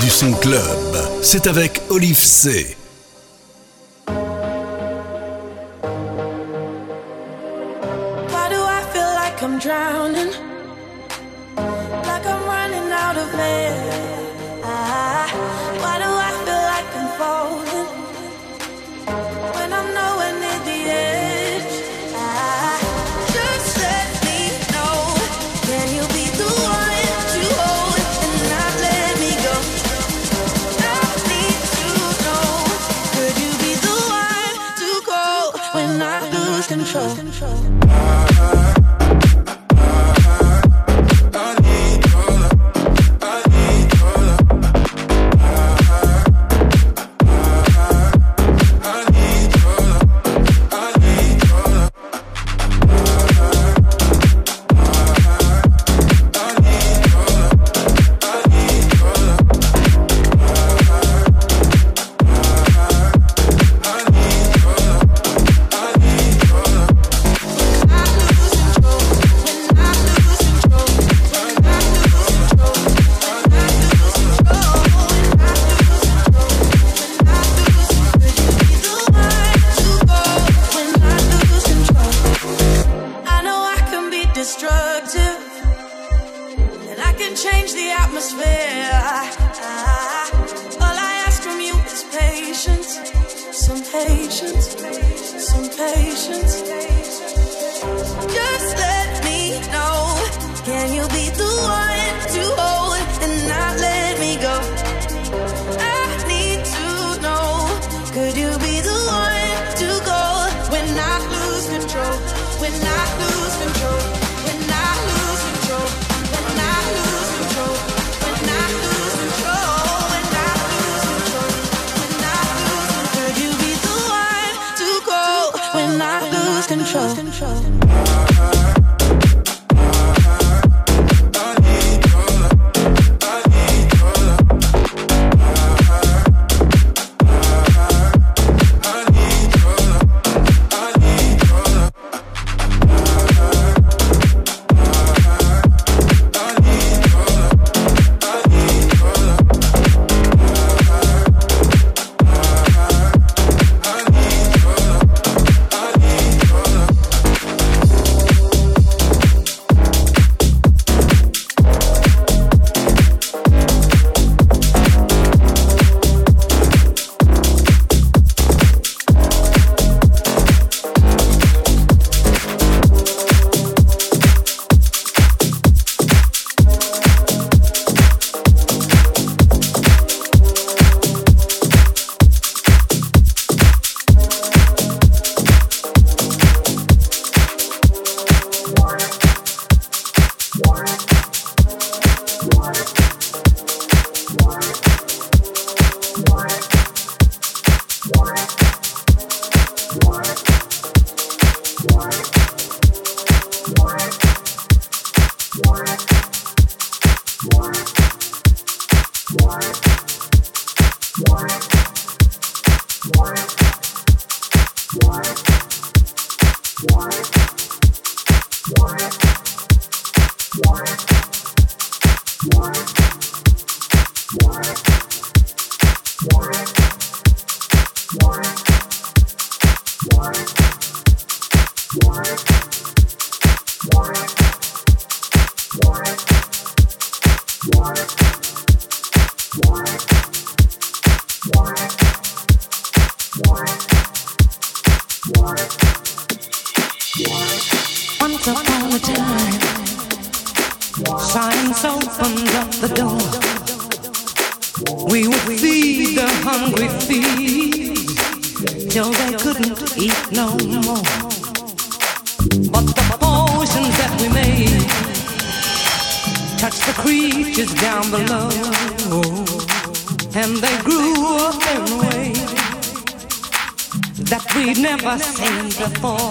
du son club. C'est avec Olive C. Why do I feel like I'm drowning? Like I'm running out of air. Ah, why do I feel like I'm falling when I'm nowhere near the edge? Ah, just let me know. Can you be the one to hold and not let me go? I need to know. Could you be the one to go when I lose control? Once upon a time, science opened up the door. We would feed the hungry feet till they couldn't eat no more. But the potions that we made touched the creatures down below, and they grew up in a way that we'd never seen before.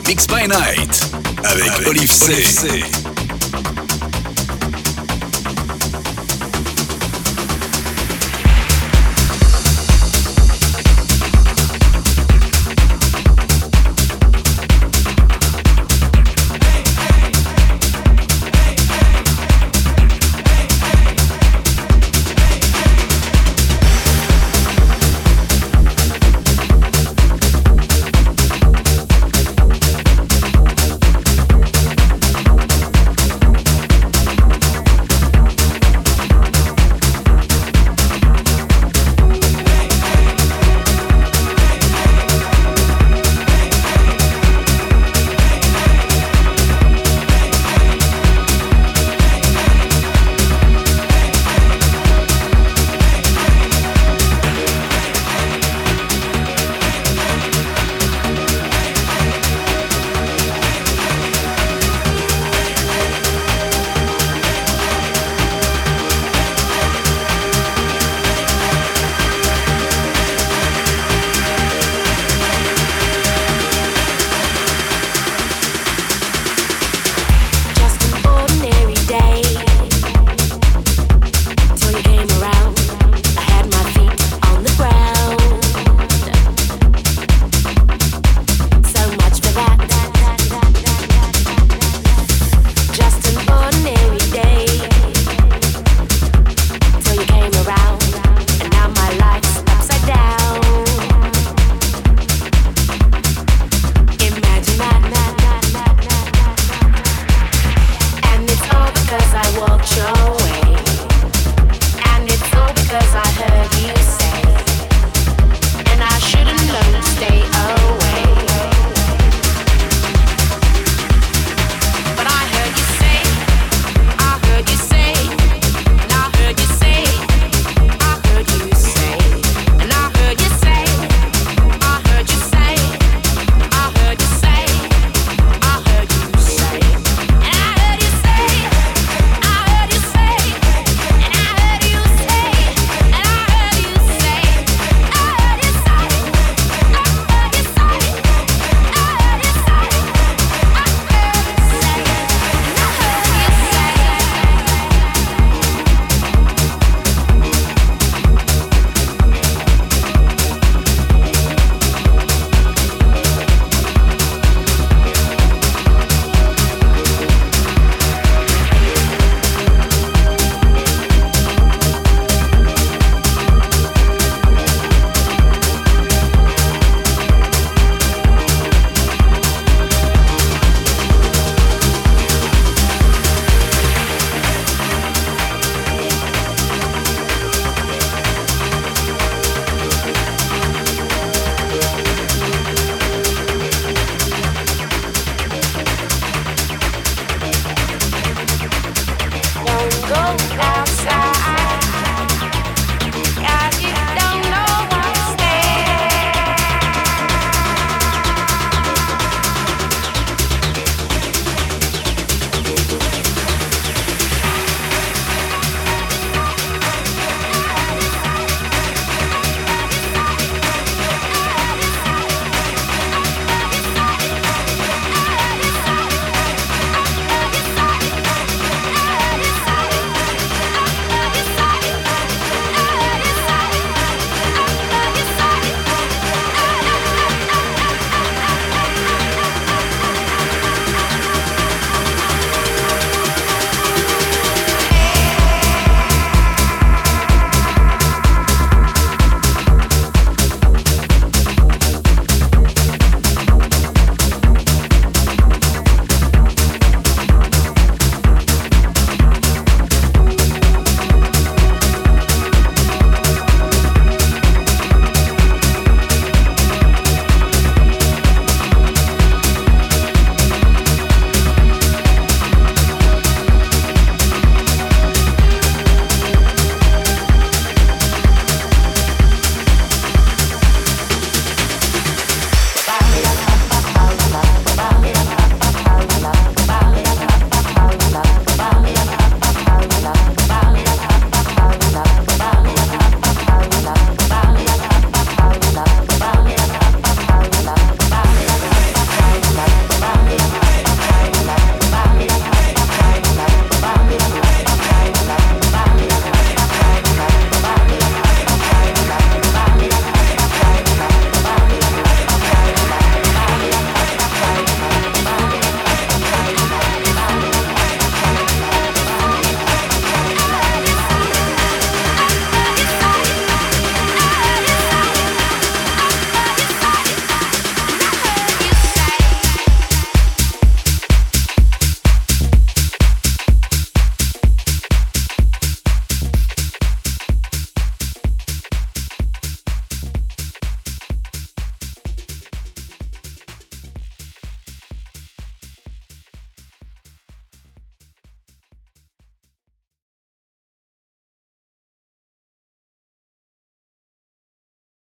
Mix by Night avec, avec Olive C. Olive C. Go outside.